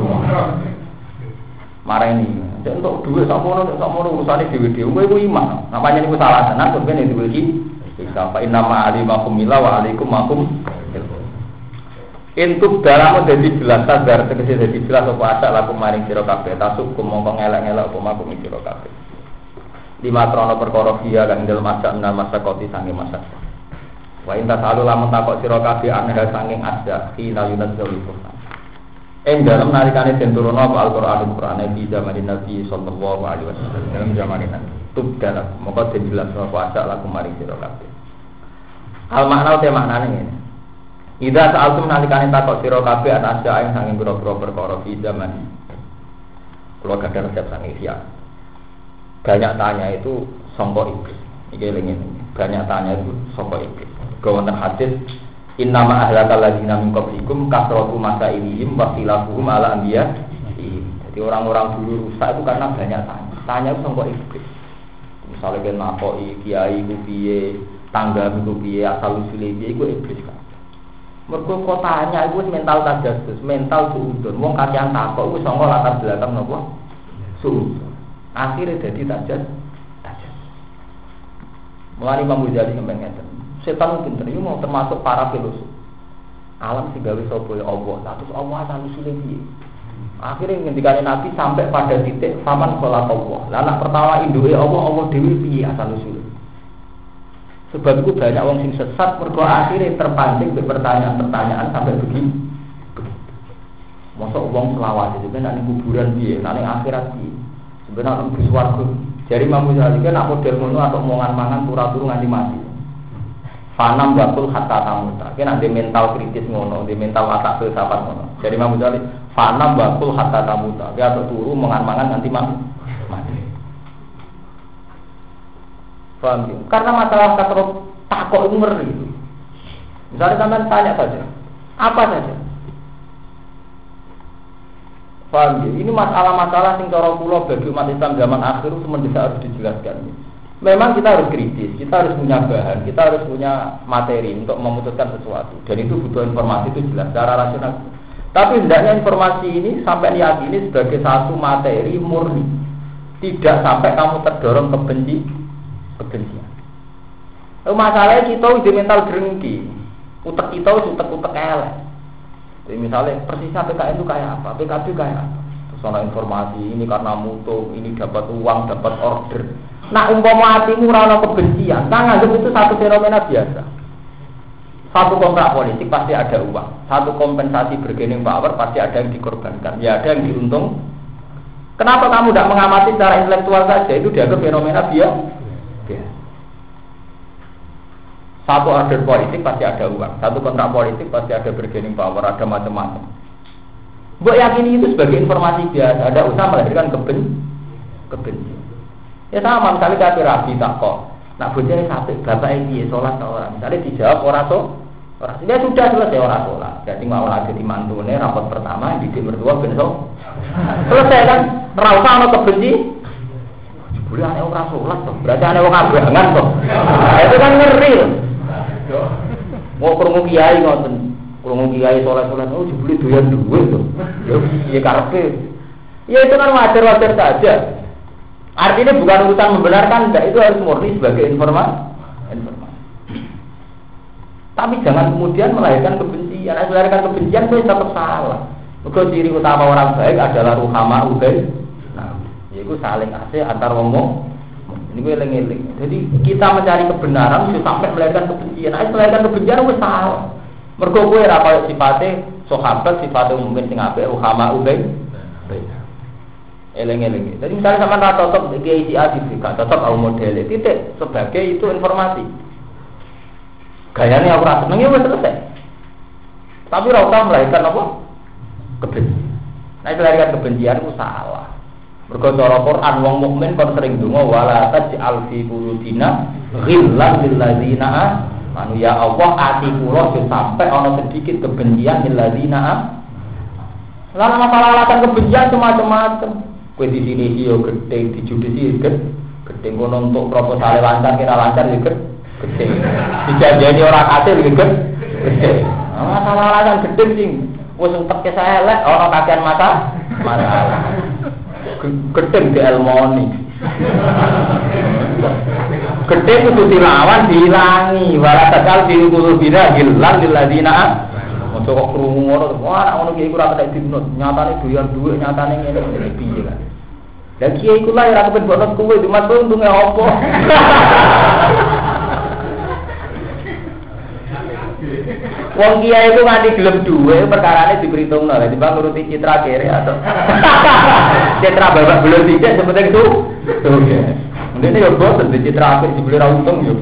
Marah ini. Dan untuk duit sakmono urusane dhewe-dhewe kowe iku iman. Namanya niku salah tenan kok kene duwe iki. Sapa inama alimakum mila wa alaikum makum. Intub dalam dadi jelas sadar tegese dadi jelas apa asak laku maring sira kabeh tasuk mongko ngelak-ngelak apa makum sira kabeh. Lima trono perkara dia kang dalem asak nama sakoti sange masak. Wa inta salu lamun takok sira kabeh aneh sanging asak ila yunadzul Qur'an. Dalam nalikane den turun apa Al-Qur'an di zaman Nabi sallallahu alaihi wasallam dalam zaman Nabi. Tub dalam mongko den jelas apa asak laku maring sira kabeh. Al makna te maknane ngene. Ida sa'altum nalikane takok sira kabeh atas aing sanging pira-pira perkara fi zaman. Kula gadah resep sanging siap. Banyak tanya itu sangka iblis. Iki eling banyak tanya itu sangka iblis. Wonten hadis innama ahlakal ladzina min qablikum kasratu masailihim wa khilafuhum ala anbiya. Jadi orang-orang dulu rusak itu karena banyak tanya. Tanya itu sangka iblis. Misalnya kan nakoki kiai ku piye, tangga ku piye, asal usule piye iku iblis kan. Mergo kotanya iku mental tajassus, mental suudon. Wong kakean takok iku sangka latar belakang napa? Suudon. Akhire dadi tajassus. Mulane Imam Ghazali sampeyan ngeten. Setan pinter iki mau termasuk para filosof. Alam sing gawe sapa ya Allah. Terus Allah asal usule piye? Akhire ngendikane Nabi sampai pada titik faman kholaq Allah. Lah anak pertama induke Allah dhewe piye asal usule? Sebab itu banyak orang sing sesat mergo akhirnya terpancing ke pertanyaan-pertanyaan sampai begini. Mosok wong selawat itu kan ning kuburan piye, ning akhirat piye. Sebenarnya lebih swarga. Jadi Imam Ghazali kan nak model ngono atau mangan-mangan turu-turu nganti mati. Fanam batul hatta tamuta. Kan ada mental kritis ngono, ada mental watak filsafat ngono. Jadi Imam Ghazali fanam batul hatta tamuta. Dia turu mangan-mangan nganti mati. Paham ya? Karena masalah kasrot takok itu ngeri itu. Misalnya sampean tanya saja, apa saja. Paham ya? Ini masalah-masalah sing cara kula bagi umat Islam zaman akhir itu mendesak harus dijelaskan. Memang kita harus kritis, kita harus punya bahan, kita harus punya materi untuk memutuskan sesuatu. Dan itu butuh informasi itu jelas secara rasional. Tapi hendaknya informasi ini sampai diyakini sebagai satu materi murni. Tidak sampai kamu terdorong kebencian. Masalahnya kita udah mental drengki. Utek kita utek elek. Jadi misalnya persisnya PKN itu kayak apa, PKB kayak apa. Terus ada informasi ini karena mutu, ini dapat uang, dapat order. Nah umpama hatimu ora kebencian, nah nganggep itu satu fenomena biasa. Satu kontrak politik pasti ada uang, satu kompensasi bargaining power pasti ada yang dikorbankan, ya ada yang diuntung. Kenapa kamu tidak mengamati secara intelektual saja? Itu dianggap fenomena biasa. Satu order politik pasti ada uang, satu kontrak politik pasti ada bargaining power, ada macam-macam. Mbok yakini itu sebagai informasi biasa, ada usaha melahirkan kebencian. Ya sama, misalnya kata rabi tak kok, nak bocahnya sampai bapak ini sholat orang, misalnya dijawab orang dia sudah selesai orang sholat, jadi mau lagi di mantune rapat pertama di mertua besok selesai kan, rasa sama kebenci, boleh aneh orang sholat toh, berarti aneh orang abangan toh, itu kan ngeri. Mau kurung kiai ngoten, kurung kiai sholat, oh jebule doyan duit toh, ya karepe, ya itu kan wajar saja. Artinya bukan urusan membenarkan, enggak, itu harus murni sebagai informasi. Tapi jangan kemudian melahirkan kebencian. Melahirkan kebencian itu tetap salah. Maka ciri utama orang baik adalah ruhama ubaid. Nah, yaitu saling asih antar wong. Ini gue eling-eling. Jadi kita mencari kebenaran itu sampai melahirkan kebencian. Melahirkan kebencian itu salah. Mergo kowe ora kaya sifate sahabat, sifate mungkin sing apik ruhama ubaid. Eleng-eleng. Jadi misalnya sama rata cocok kiai si A gak cocok au model titik sebagai itu informasi. Gayanya aku rasa seneng ya wis selesai. Tapi ora usah melahirkan apa? Kebencian. Nah, melahirkan kebencian itu salah. Mergo cara Quran wong mukmin kon sering donga wala taj'al fi qulubina ghillan lil ladzina amanu ya Allah ati kula sampai ana sedikit kebencian lil ladzina. Lalu masalah alasan kebencian macam-macam. Kue di sini iyo gede, di judisi gede, kono untuk proposal lancar kira lancar juga gede, dijanjani orang hasil juga gede. Masalah alasan gede sih, wes untuk saya elek orang kakean masalah, gede di elmoni, gede itu dilawan dihilangi, walau takal diukur bina hilang diladina. Untuk kok krungu ngono, wah anak ngono kiai ora kena dibnut, nyatane doyan dhuwit, nyatane ngene piye kan. Lah kiai iku lah ora kepen bonus kuwe, cuma untunge apa? Wong kiai itu nganti gelem dhuwit, perkarane diperhitungno, lha timbang nuruti citra kere atau citra babak belum dicek sepenting itu. Oke. Ndene yo boten citra apik dibeli ra untung yo.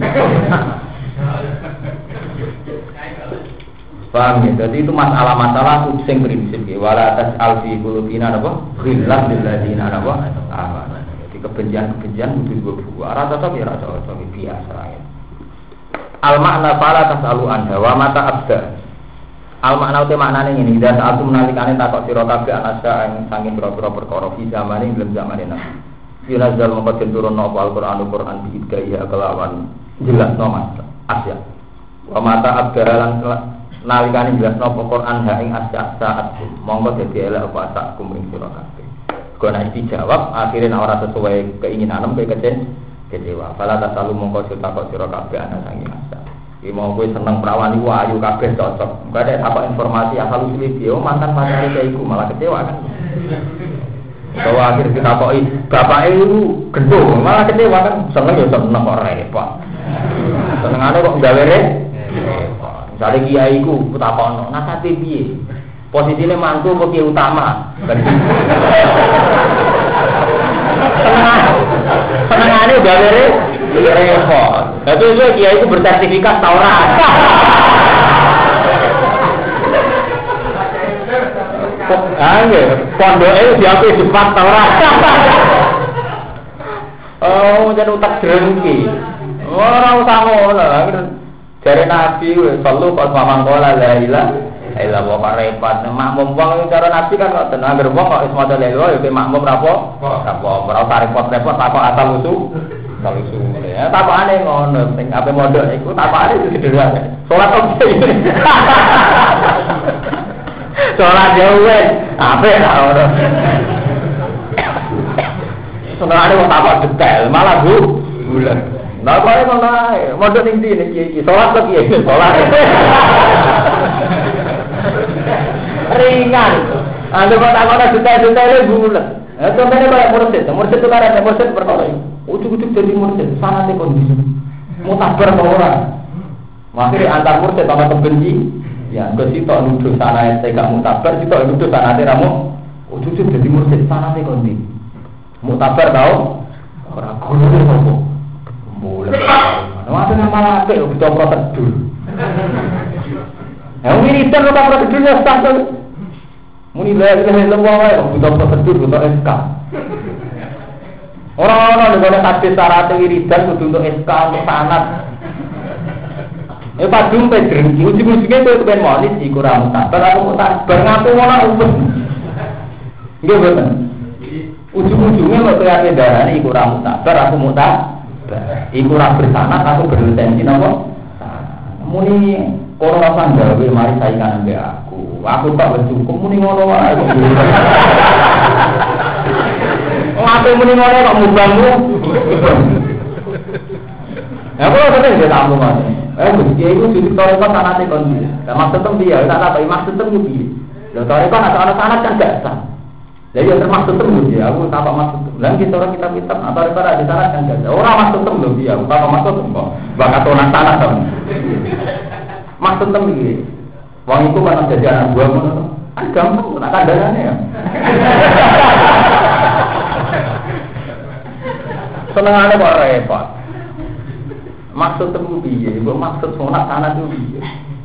Paham ya? Jadi itu masalah-masalah sing prinsip ya. Wala tas'al fi qulubina apa? Ghillan lil ladzina apa? Jadi kebencian kudu buah. Ora cocok ya ora cocok biasa ya. Al makna fala tas'alu anha wa mata abda. Al makna uti maknane ngene, ida saat menalikane takok sira kabeh anasa ing saking pira-pira perkara fi zamane ing zamane Nabi. Yunazal mongko turun apa Al-Qur'an bi idaya kelawan jelasno mas asya. Wa mata abda lan nalikane jelasno Quran ha ing asya-asyaat monggo dadi elek apa asakum ing sira kabeh. Kok nek dijawab akhirnya ora sesuai keinginan kowe kecewa. Fala tasalu mongko takok sira kabeh ana sangi asya. Iki mau kowe seneng prawani ayu kabeh cocok. Engko ada apa informasi asal usul video mantan pacare iku malah kecewa kan. Bahwa akhir kita takoki bapake itu gendho malah kecewa kan seneng ya seneng kok repot. Senengane kok gawe repot. Misalnya kiai ku takono, nasate piye? Posisinya mantu apa kiai utama. Senengane gawe repot. Tapi itu kiai itu bersertifikat Taurat. Pondoke diaku Jepang Taurat. Oh, jadi utak drengki. Ora usah ngono. Jare Nabi wis perlu kok mamangkola la ilaha illallah kok repot. Makmum wong cara Nabi kan kok tenan anggere wong kok wis maca la ilaha ya makmum ora usah repot-repot takok asal usul. Kalau usul ya takokane ngono sing ape mondok iku takokane sederhana. Salat opo iki? Salat yo wis ape ra ora. Senengane wong takok detail malah bulan. Nah, kok ngono ae. Mondok ning ndi iki? Salat kok piye? Salat. Ringan. Anda kok takokane detail-detaile bulan. Contohnya kayak mursid itu kan ada mursid perkara ini. Ujuk-ujuk jadi mursid, sangat kondisi. Mutabar ke orang. Akhirnya antar mursid sama kebenci. Ya, ke situ nuduh sana STK mutabar, situ nuduh sana ramu. Ujuk-ujuk jadi mursid, sangat kondisi. Mutabar tahu? Orang guru itu apa? Boleh. Ada nama lapik, kita prosedur. Yang wiridan kita prosedurnya standar. Muni lha wae butuh prosedur butuh SK. Orang-orang nek hadis syarat wiridan kudu untuk SK untuk sanad. Padung pe drengki ujug-ujuge kowe kepen monis iku ra mutabar aku mutabar ngaku ngono umum. Nggih boten. Ujug-ujuge kok kaya darane iku ra mutabar aku mutabar. Iku ra bersanad aku berlisensi napa? Muni ora usah gawe mari saingan ambek aku. Aku tak wis cukup muni ngono wae. Ngape muni ngono kok mubangmu? Ya kok sering dia tamu Mas. Gusti iku ditore kok sanate kon. Lah maksud tem piye? Tak apa maksud tem piye? Lho tore kok ana sanat kan gak sah. Lah ya termaksud tem piye? Aku tak apa maksud. Lah kita orang kita pinter atau ora di sanat kan gak. Ora maksud tem lho piye? Aku tak maksud kok. Bakat orang sanat to. Maksud tem piye? Wong iku kan jadi anak buah ngono. Kan gampang tak kandhane ya. Senengane kok repot. Maksud temu piye? Mbok maksud sunat sanad itu piye?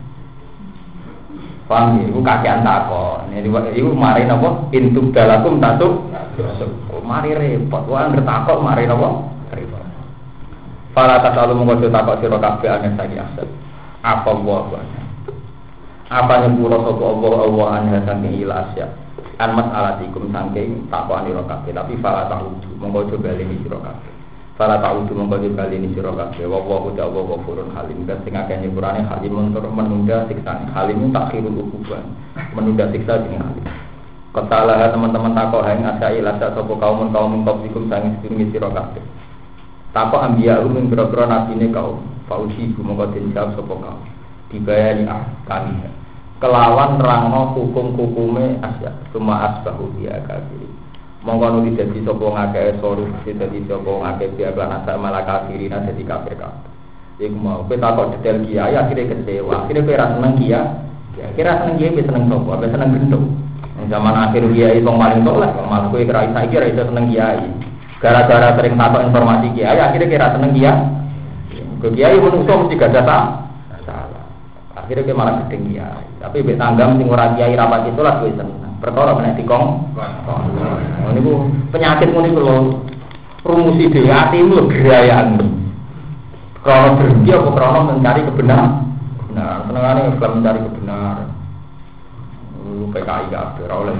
Paham ya? Iku kakean takon. Iku mari napa? Intub dalakum tasuk. Mari repot. Wong anggere takok mari napa? Repot. Para tasalu monggo takok sira kabeh aneh saiki aset. Apa wae? Apa nyepuro sapa Allah anha saking ilasya. An mas'alatikum saking takokane sira kabeh. Tapi fala ta'udu monggo coba lini sira kabeh. Fala ta'udu monggo coba lini sira kabeh. Wa ta'ala ghafurun halim. Dan sing akeh nyepurane halim menunda siksane. Halim takhirul uquban. Menunda siksa jeneng halim. Ketalah teman-teman takok haing asa ilasya sapa kaum qablikum saking sedurunge sira kabeh. Takok ambiya umum boro-boro nabine kaum. Fausi monggo den jawab sapa kaum. Dibayani kami kelawan rangno hukum-hukume asya cuma asbahu dia kafir monggo nuli dadi sapa ngakeh sorus dadi sapa ngakeh dia lan asa malah kafirin dadi kafir kabeh iku mau kowe takok detail kiai akhire kecewa akhire kowe ra seneng kiai kira seneng kiai seneng sapa apa seneng gendong zaman akhir kiai wong paling tolak malah kowe kira saiki ra iso seneng kiai gara-gara sering takok informasi kiai akhire kira seneng kiai menungso mesti gak ada akhirnya dia malah gedeng kiai. Tapi mbek tanggam sing ora kiai rapat itu lah kowe seneng. Perkara menek dikong. Oh niku penyakit ngene iku lho. Rumusi dhewe atimu lho gerayan. Krono berhenti apa krono mencari kebenaran? Nah, senengane Islam mencari kebenaran. PKI kabeh ora oleh.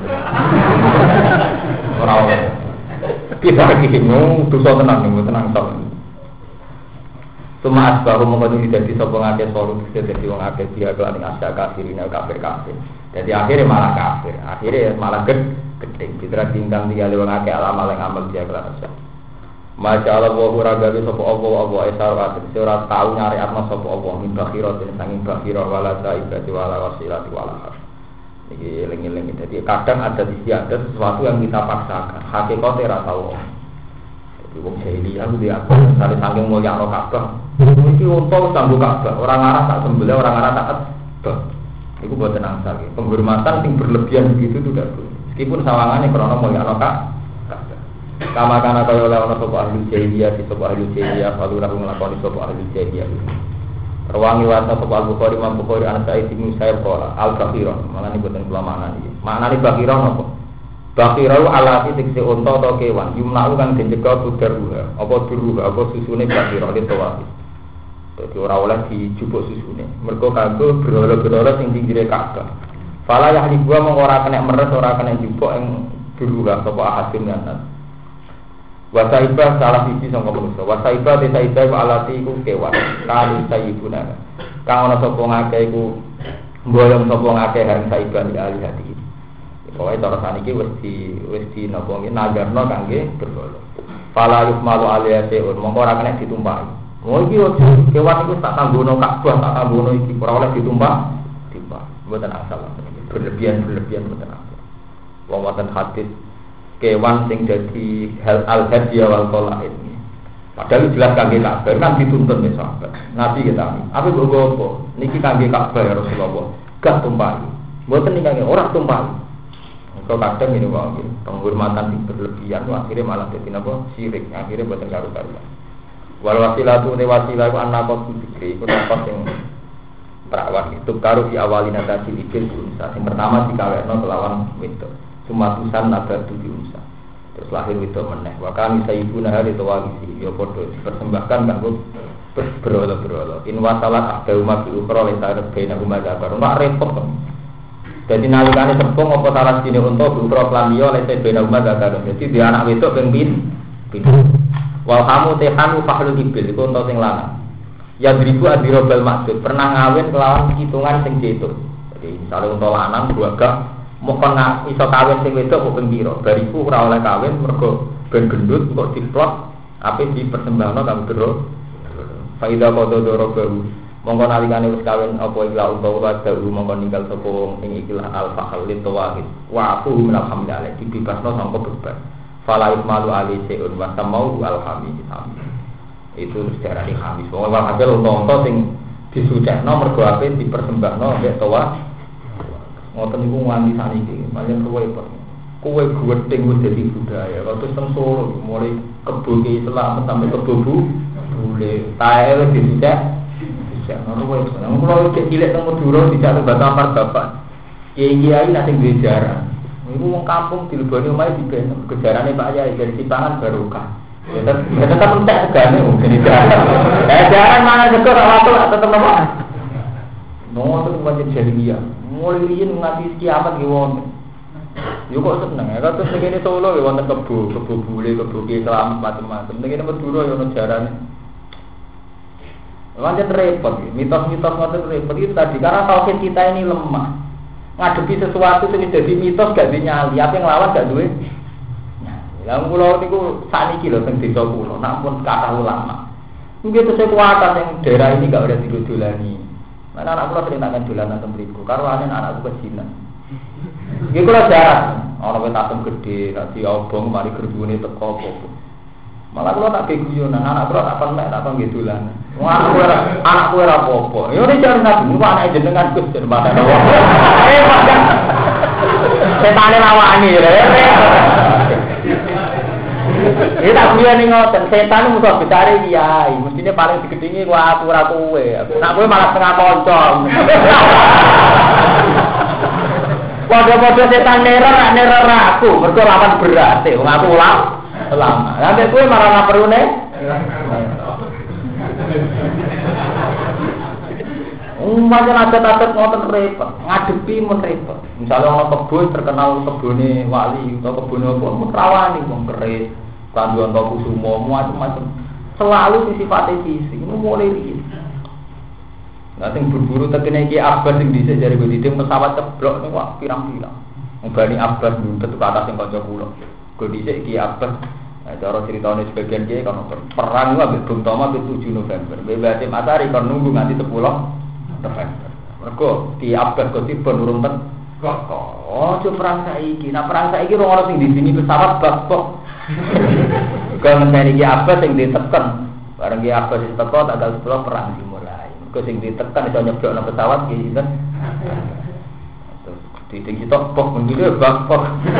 Ora oleh. Kita iki ngono dosa tenang tok. Cuma asbaru mengkono dadi sapa ngake sorut dadi wong akeh dia kelan asya kafirin kafir. Jadi akhirnya malah kafir. Akhirnya malah gedeng. Fitra tingkang dia wong akeh amal yang amal dia kelan asya. Masya Allah wa ragawi sapa Allah isarat ora tau nyari atma sapa Allah min bakhirat sanging bakhira wala saibati wala wasilati wala. Iki eling-eling. Jadi kadang ada sesuatu yang kita paksakan. Hakikate ora tau. Wong jahiliyah aku dia sampai saking mulyakno Ka'bah. Iki unta kanggo Ka'bah, orang arah tak sembelih, orang arah tak edot. Iku boten angsal. Penghormatan sing berlebihan begitu itu tidak boleh. Meskipun sawangannya karena mulya ana kama kana kaya oleh ana sapa ahli jahiliyah sapa ahli jahiliyah kalau ora nglakoni sapa ahli jahiliyah. Rawangi wasa sapa Al-Bukhari Imam Bukhari ana Sa'id bin Musayyib qala al-bakhiron. Mangane boten kula maknani iki. Maknane bakhiron apa? Bakhiron alati tekse unta atau kewan. Yumna'u kang dijaga budaruha. Apa duruha apa susune bakhiron itu wae. Dadi ora oleh dijupuk susune. Mergo kanggo berhala-berhala sing pinggire Ka'bah. Fala yahli gua mung ora kena meres ora kena jupuk ing duruha sapa ahadin nan. Wasaibah salah siji sangka manusa. Wasaibah desaibah alati iku kewan. Kali saibuna. Kang ana sapa ngake iku mboyong sapa ngake hareng saibah ali hati. Pokoke cara saniki wis di napa nggih nagarno kangge berhala. Fala yukmalu aliyaseun mongko ora kena ditumpahi. Oh iki kewan iku tak kanggono Ka'bah tak kanggono iki ora oleh ditumpah. Mboten asal. Berlebihan mboten asal. Wong wonten hadis kewan sing dadi hal al-hadiya wal qalaid. Padahal jelas kangge Ka'bah kan dituntun ya sahabat. Nabi kita apa apa niki kangge Ka'bah ya Rasulullah. Gak tumpahi. Mboten niki kangge ora tumpahi. Kalau kadang ini wae penghormatan sing berlebihan akhirnya malah dadi napa syirik. Akhirnya mboten karu-karuan. Wal wasilatu ne wasilah ku anaqat fikri ku napa sing perawan itu karo di awalina tadi ibil unsa. Yang pertama dikawekno kelawan wedok. Sumatusan nabatu diunsa. Terus lahir wedok meneh. Wa kami sayyiduna hari tawagisi ya padha dipersembahkan kanggo berhala-berhala. In wasalat ahdauma bi ukhra la ta'rifina huma zakar. Mak repot. Jadi nalikane sepung apa salah sini untuk bi ukhra planiyo la ta'rifina huma zakar. Jadi dia anak wedok ping pindah. Wal hamu tehanu fahlul ibil iku ento sing lanang. Ya dribu adirobal maksud pernah ngawin kelawan hitungan sing cetuk. Jadi misalnya untuk lanang gak mokon iso kawin sing wedok kok ping pira. Bariku ora oleh kawin mergo ben gendut kok diplot ape dipersembahno kanggo doro. Faida kodo doro baru. Mongko nalikane wis kawin apa ila utawa dalu mongko ninggal sapa wong ing ikilah al-fahl litawahid. Wa aku alhamdulillah dibebasno sangka beban. Fala ismalu ali seun wa samau alhamid. Itu sejarah di khamis. Wong kabeh unta sing disucekno mergo ape dipersembahno mbek tawah. Ngoten niku nganti saniki, paling kowe gething wis dadi budaya. Terus teng Solo mulai kebo ke Islam sampai kebo bule. Tae wis dicek. Bisa ngono wae. Nang kula iki cilik teng Madura dicak Batamar bapak. Kiai-kiai nate duwe jarah. Niku wong kampung dileboni omahe dibenem. Kejarane Pak Yai dari Sipangan barokah. Ya tetep entek segane mungkin itu. Jarang mangan sego ora waktu tetep apa? Ngoten pancen jahiliyah. Mulai riyen nganti kiamat nggih wonten. Yo kok seneng ya terus ngene Solo ya wonten kebo bule, kebo Islam macam-macam. Ngene Madura ya ono jarane. Pancen repot ya. Mitos-mitos ngoten repot itu tadi karena tauhid kita ini lemah. Ngadepi sesuatu sing dadi mitos gak dinyali, apa yang lawan gak duwe. Lah kula niku sakniki lho teng desa kula, nampun kathah ulama. Nggih tesih kuwatan yang daerah ini gak ada didolani. Mana anak kula sering tangan dolanan teng mriku, karo anakku kecilan. Nggih kula jarang, ana wong tatem gedhe, dadi obong mari gerbune teko apa. Malah kula tak guyonan, anak kula tak penek tak nggih dolanan. Wong anakku ora apa-apa. Ya ora jarang nabi, niku anake jenengan Gus jenengan. Setane lawani ya. Ini tak punya nih ngoten, setan musuh besar kiai, mestinya paling digedingi gua aku ora kowe. Nak kowe malah setengah koncong. Padha-padha setan neror aku, mergo lawan berat, wong aku lama. Lah kowe malah ora perune. Macam adat-adat ngoten repot, ngadepi mun repot. Misalnya orang kebun terkenal kebune wali atau kebune apa, mun rawani wong keris. Kanduan toko semua macam-macam selalu sifatnya fisik ini mulai rilis. Nanti berburu terkena Ki Abbas yang bisa jadi begitu pesawat ceblok nih wah pirang-pirang. Membani Abbas dulu ke atas yang kocok pulau. Kondisi Ki Abbas, cara ceritanya sebagian Ki kalau perang itu habis Bung Toma itu 7 November. Bebasim Asari kan nunggu nanti 10 November. Mereka Ki Abbas kau tiba nurun ten. Oh, coba perang saiki. Nah perang saiki orang-orang yang di sini pesawat bakpok. Kalau mencari Ki Abbas yang ditekan, barang Ki Abbas ditekan tanggal 10 perang dimulai. Kalau yang ditekan itu nyeblok pesawat gitu kan. Ditinggi topok mendile bakpok.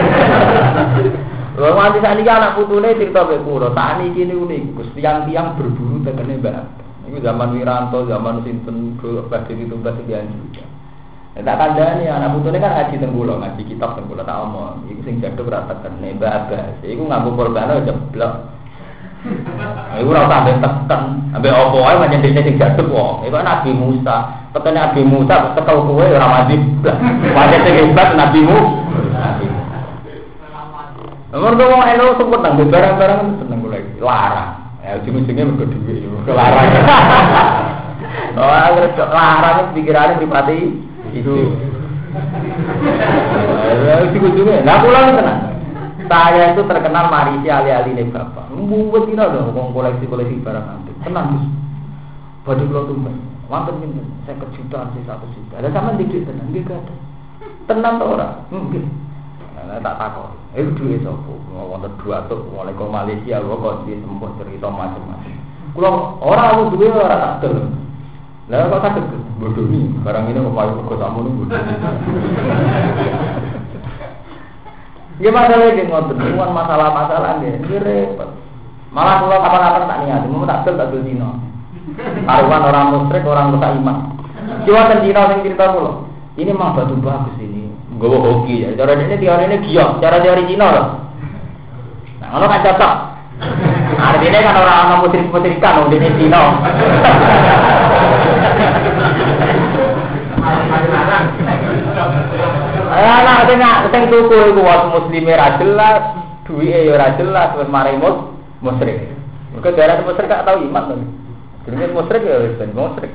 Lho nganti sakniki anak putune cerita mek kula, sakniki niku Gus tiang-tiang berburu tekene Mbak. Iku zaman Wiranto, zaman sinten badhe ditumbas sekian juga. Tak kandhani anak putune kan ngaji teng kula, ngaji kitab teng kula tak omong. Iku sing jaduk ora tekene Mbak Abbas. Iku nganggo korban jeblok. Iku ora usah teken, ambek opo wae pancen dene sing jaduk wong. Iku Nabi Musa. Petene Nabi Musa tekel kowe ora mati. Pancen sing hebat Nabi Musa. Nomor wong elo sebut nang barang-barang seneng kula iki. Larang. Ya ujung-ujungnya mergo dhuwit yo. Larang. Oh, agar larang pikirane pripati itu. Ujung-ujungnya. Nah, kula tenang. Saya itu terkenal marisi ali-aline bapak. Mbuwet kira lho wong koleksi-koleksi barang antik. Tenang, Gus. Badhe kula tumbas. Wonten pinten? 50 juta, 1 juta. Lah sampean didik tenan nggih gak? Tenan to ora? Nggih. Nah, tak takon. Iku duwe sapa? Wonten 200 mulai ke Malaysia kok di sempot cerita macam-macam. Kula ora duwe ora tak del. Lah kok saged bodoni barang ini kok payu kok sakmono bodoni. Ya masalah iki ngoten, kuwi masalah-masalah nggih repot. Malah kula kapan-kapan tak niat, mau tak del dino. Karuan orang musyrik, orang rusak iman. Jiwa ten dino sing cerita kula. Ini mah batu bagus ini. Nggawa hoki ya. Cara ini teorine giok, cara teori Cina lho. Nah, ngono kan cocok. Artinya kan orang musyrik-musyrikan wong dene Cina. Ana tengah sing tuku iku wong muslime ra jelas, duwike ya ora jelas wis mari musyrik. Mergo daerah musyrik gak tau iman to. Jenenge musyrik ya wis ben musyrik.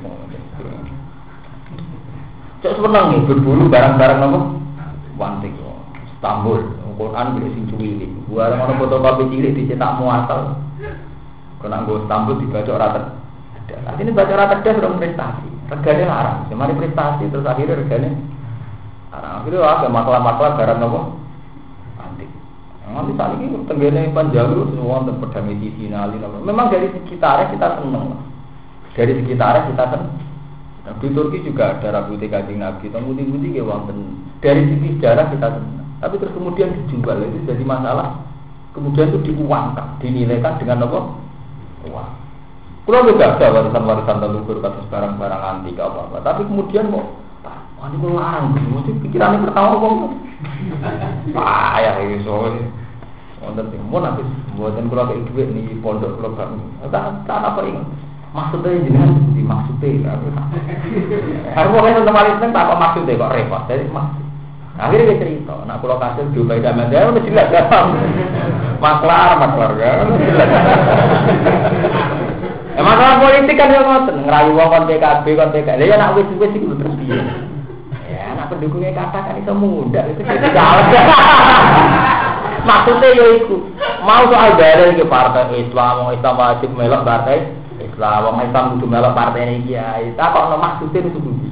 Cok seneng nih berburu barang-barang apa? Wantik Istanbul, Quran bisa sing cuwili. Barang ana fotokopi cilik dicetak muasal. Kena nggo Istanbul dibaca ora tedas. Artine baca ora tedas ora prestasi. Regane larang. Semari prestasi terus akhirnya regane larang. Akhirnya ada masalah-masalah barang apa? Antik. Nanti saat ini tenggene panjalur semua tentang pedang medicinal. Memang dari sekitarnya kita seneng. Dari sekitarnya kita seneng. Nah, di Turki juga ada rambutnya Kanjeng Nabi, putih-putih ya wonten. Dari sisi sejarah kita senang. Tapi terus kemudian dijual itu jadi masalah. Kemudian itu diuangkan, dinilaikan dengan apa? Uang. Kalau juga ada warisan-warisan leluhur kasus barang-barang antik apa-apa. Tapi kemudian kok, wah ini kok larang, mesti pikirannya pertama kok. Payah ini soalnya. Wonten sing mun habis mboten kula kei dhuwit niki pondok kula bak. Tak apa ingat. Maksudnya jenengan dimaksudnya harus pokoknya untuk paling seneng tak apa maksudnya kok repot jadi maksud akhirnya dia cerita nak pulau kasir juga tidak ada udah jelas kan maklar kan jelas masalah politik kan yang ngoten ngerayu wong PKB kon PKB ya nak wis itu terus piye ya nak pendukungnya katakan itu mudah itu jadi jalan maksudnya ya itu mau soal dalil ke partai Islam wajib melok partai Islam, wong Islam kudu melok partai iki ya. Tak kok ono maksude itu kudu.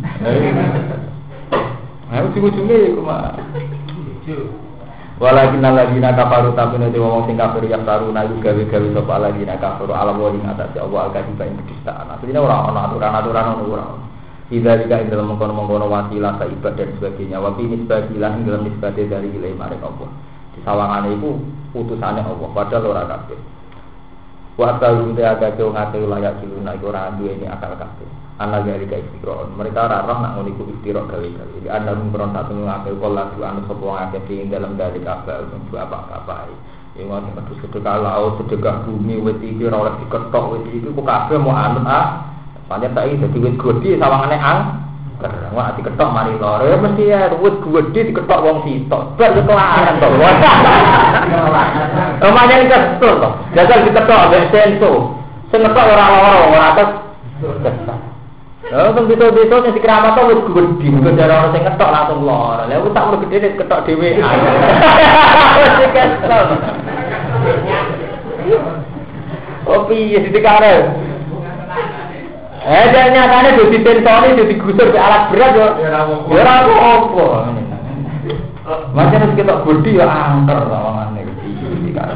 Nah, ujung-ujungnya iku mah. Walakin alladzina kafaru tabuna de wong sing kafir ya taruna gawe-gawe sapa alladzina kafaru ala wa ing atase Allah al-kadiba ing kedustaan. Asline ora ono aturan-aturan ono ora. Tidak juga ing dalam mengkono-mengkono wasilah ka ibadah dan sebagainya. Wa bi nisbatilah ing dalam nisbate dari ilahi maring Allah. Di sawangane iku putusane Allah padahal ora kabeh. Wa ta'alum ta'ala wong ate layak diluna iku ora duweni akal kabeh. Ana dari ka istiqron. Mereka ora roh nak ngono iku istiqron gawe-gawe. Di ana mung satu ngake kala du anu sapa ngake ing dalam dari kabeh untuk apa-apa. Ing wong metu sedekah laut sedekah bumi wit iki ora oleh diketok wit iki kok kabeh mau anut pancen tak iki dadi wit gedhe sawangane angker. Wah diketok mari loro ya mesti ya wit gedhe diketok wong sitok. Bar ketularan to. Omane kesel to. Jajal diketok ambek senso. Sing ngetok ora loro ora atas. Kan bisa-bisa sing dikeramat to wis gedhe, kok cara ora sing ngetok langsung loro. Lah wis tak mung gedhe diketok dhewe. Wis kesel. Opi dikare. Nyatane do ditentoni do digusur ke alat berat yo. Ya ora apa-apa. Macam nek ketok gedhe yo angker sawangane dikare.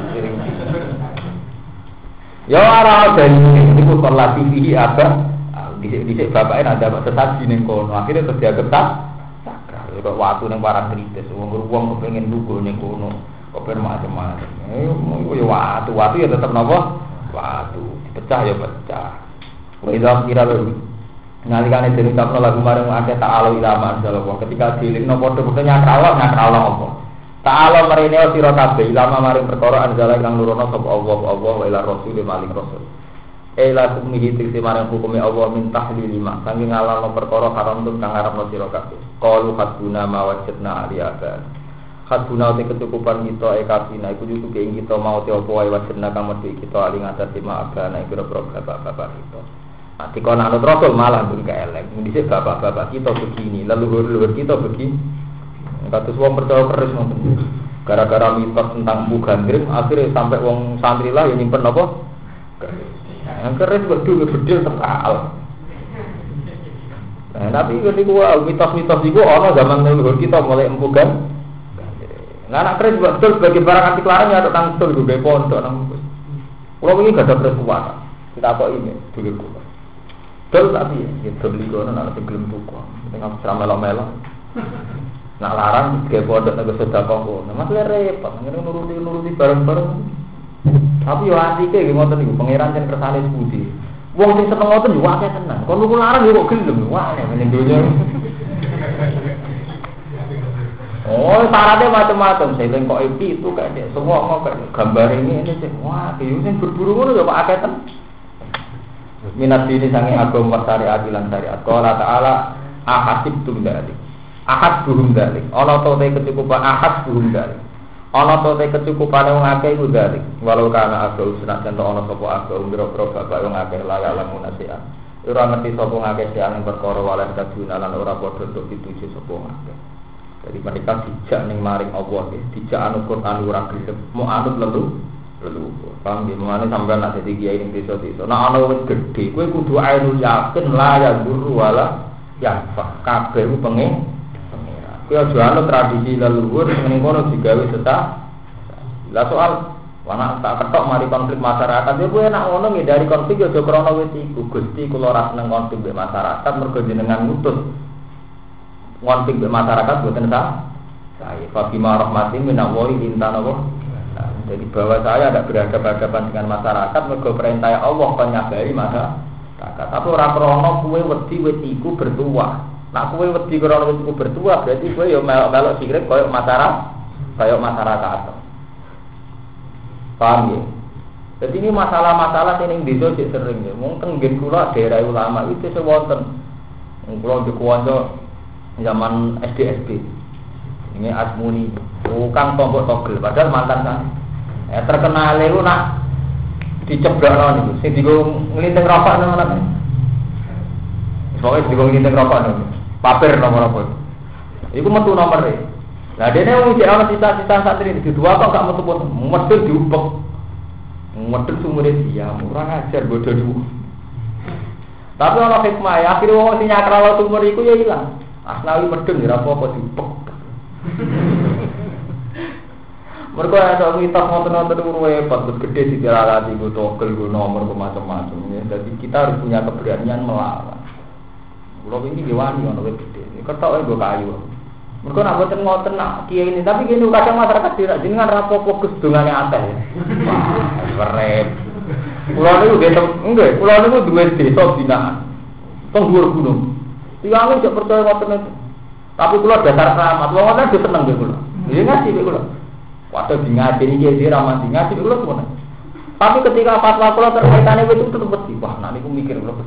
Ya ora ben niku kelas TV apa dhisik bapake ada sesaji ning kono akhire terus dianggap sakral Kok waktu ning parang kritis, wong kepengin lugu ning kono, kok macam-macam. Yo watu ya tetep napa? Watu, dipecah ya pecah. Wong kira lho. Nalikane dene tapno lagu marang akeh ta'ala ilama Allah. Ketika dilingno padha-padha nyakralo apa? Ta'ala marine sira kabeh ilama maring perkara anjala kang nurono sapa Allah wa ila rasul maling rasul. Ela kumihi tiksi marang hukume Allah min tahlil lima saking ngalano perkara haram tur kang arepno sira kabeh. Qalu haduna ma wajadna aliyaka. Haduna te kecukupan kita kafina iku cukup ing kita mau te apa wae wajadna kang medhi kita ali ngatasi maabana iku bapak-bapak kita. Ati kon anut rasul malah pun kelek. Dhisik bapak-bapak kita begini, leluhur-leluhur kita begini. Kados wong percaya keris ngoten. Gara-gara mitos tentang Bu Gandring akhirnya sampai wong santri lah yang nyimpen apa? Yang keris bedul terkal. Nah, tapi ketika mitos-mitos itu ana zaman leluhur kita mulai Empu Gandring. Nah, anak keris bedul sebagai barang anti larang ya tentang betul gue pondok nang. Kulo wingi gak ada keris kuwata. Kita kok ini dulur kula. Dul tapi ya beli kono nek gelem tuku. Tengah melo-melo. Nak larang ge pondok nek sedekah kono. Masalah repot, ngene nuruti bareng-bareng. Tapi yo atike nggih ngoten niku pangeran jan kersane sepundi. Wong sing seneng ngoten yo akeh tenan. Kon nuku larang yo kok gelem. Wah, ning donya. Oh, syaratnya macam-macam. Seling kok itu kayak semua mau kayak gambar ini sih. Wah, yo sing berburu ngono yo kok akeh tenan. Minat dini sange agama syariat lan syariat. Qala ta'ala ahasibtum dzalik. Ahad buhum dzalik. Ana to te kecukupan ahad buhum dzalik. Ana to te kecukupan wong akeh iku dzalik. Walau kana agama sunat ento ana sapa agama biro-biro bapak wong akeh layak lamun nasihat. Ora ngerti sapa ngakeh siang perkara walan kaduna lan ora padha untuk dituju sapa ngakeh. Jadi mereka dijak ning maring Allah nggih, dijak anu Quran ora gelem, mau anut lelu. Paham nggih, mengane sampean nek dadi kiai ning desa-desa. Nek ana wis gedhe, kowe kudu ainul yakin la ya guru wala ya kabeh ku pengen. Kowe aja anut tradisi leluhur ning kono digawe setah. Lah soal wana tak ketok mari konflik masyarakat, ya kowe nek ngono ngindari konflik aja krana wis iku. Gusti kula ora seneng konflik mbek masyarakat mergo jenengan ngutus konflik mbek masyarakat boten sah. Saya Fatimah rahmatin minallahi intana. Jadi bahwa saya ada berhadapan dengan masyarakat mergo perintah Allah penyabari masyarakat. Tapi ora krana kowe wedi wis iku bertuah. Nek kowe wedi krana wis iku bertuah berarti kowe ya melok-melok sirik koyo masyarakat. Paham ya? Jadi ini masalah-masalah sing desa sik sering ya. Mungkin ngen kula daerah ulama itu sewonten. Kula dikonco zaman SD. Ini Asmuni, tukang tombok togel padahal mantan kan. Terkenal itu nak diceblokno niku. Sing digo nglinting rokok nang ngono. Soale digo nglinting rokok niku. Paper nomor apa? Iku metu nomere. Lah dene wong sik ana sisa-sisa santri di dua kok gak metu-metu. Medhul diupek. Medhul sumure dia ora ngajar bodho dulu. Tapi ana hikmah ya, akhire wong sing nyakralo sumur iku ya ilang. Asnawi medhul ya ora apa-apa diupek. Mereka ada mitos ngotot-ngotot itu repot, gede sih tiralati, gue togel, gue nomor, gue macam-macam. Jadi kita harus punya keberanian melawan. Kalau ini diwani, orang gede. Ketok gue kayu. Mereka nak buat ngotot nak kia ini, tapi gini kadang masyarakat tidak jenengan rapo fokus dengannya atas. Wah, keren. Pulau ini udah enggak, pulau ini dua desa binaan, tenggur gunung. Tiang ini tidak percaya ngotot itu. Tapi pulau dasar selamat, pulau ngotot itu seneng deh pulau. Ini ngasih pulau. Waktu di ngaji ini jadi ramah di ngaji dulu semua. Tapi ketika fatwa kalau terkaitannya itu tetap bersih. Wah, nanti aku mikir dulu.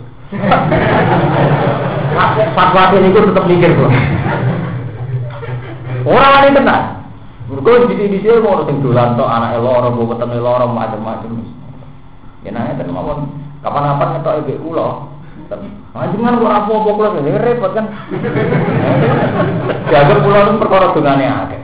Fatwa ini aku tetap mikir dulu. Orang ini tenang. Mereka di sini mau orang dolan atau anak elor, mau ketemu elor, macam-macam. Ya nanya teman-teman, kapan-kapan ngetok ibu ulo. Jangan kok apa-apa pulau ini repot kan. Jaga pulau itu perkara dengannya ada.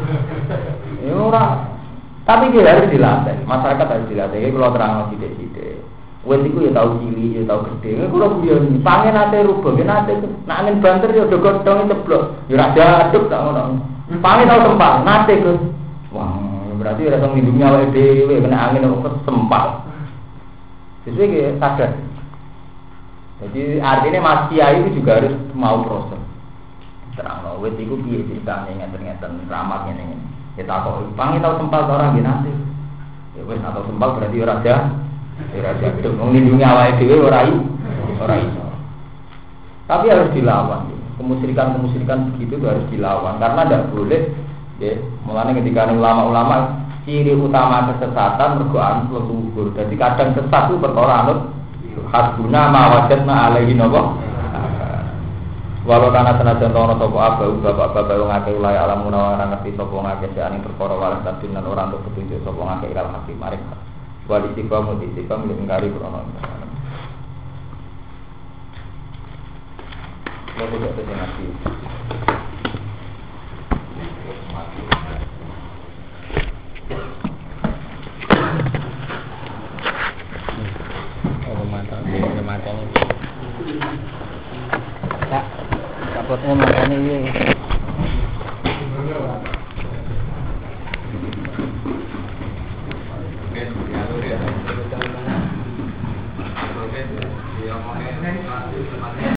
Ora. Tapi dia harus dilatih. Masyarakat harus dilatih. Kalau terang sithik-sithik. Wes iku ya tau cilik, ya tau gede. Kalau guyon pangen ate rubah, nate nak angin banter ya do godhong ceblok. Ya ora jaduk tak ngono. Pangen tau sempat, nate Gus. Wah, berarti ora tau ngidungi awake dhewe kena angin kok sempat. Sesuai ke sadar. Jadi artinya Mas Kiai itu juga harus mau proses. Terang wit iku piye ceritane ngeten-ngeten ramat ngene. Kita kok pangi tau sempal orang nggih nanti. Ya wis atau sempal berarti ora ada. Ora ada wong lindungi awake dhewe ora iso. Tapi harus dilawan. Kemusyrikan begitu itu harus dilawan karena tidak boleh ya. Mulane ketika ulama-ulama ciri utama kesesatan mergo anut luhur. Jadi kadang sesat itu perkara anut hasbuna ma wajadna alaihi napa. Walau karena senajan tono sopo abau bapak-bapak yang ngake ulai alam munawa ngerti sopo ngake seani perkara walas tadin dan orang untuk petunjuk sopo ngake ilal hakim marik wali tiba muti tiba milik ngari krono lalu tidak terjadi mantap tak takutnya makanya ini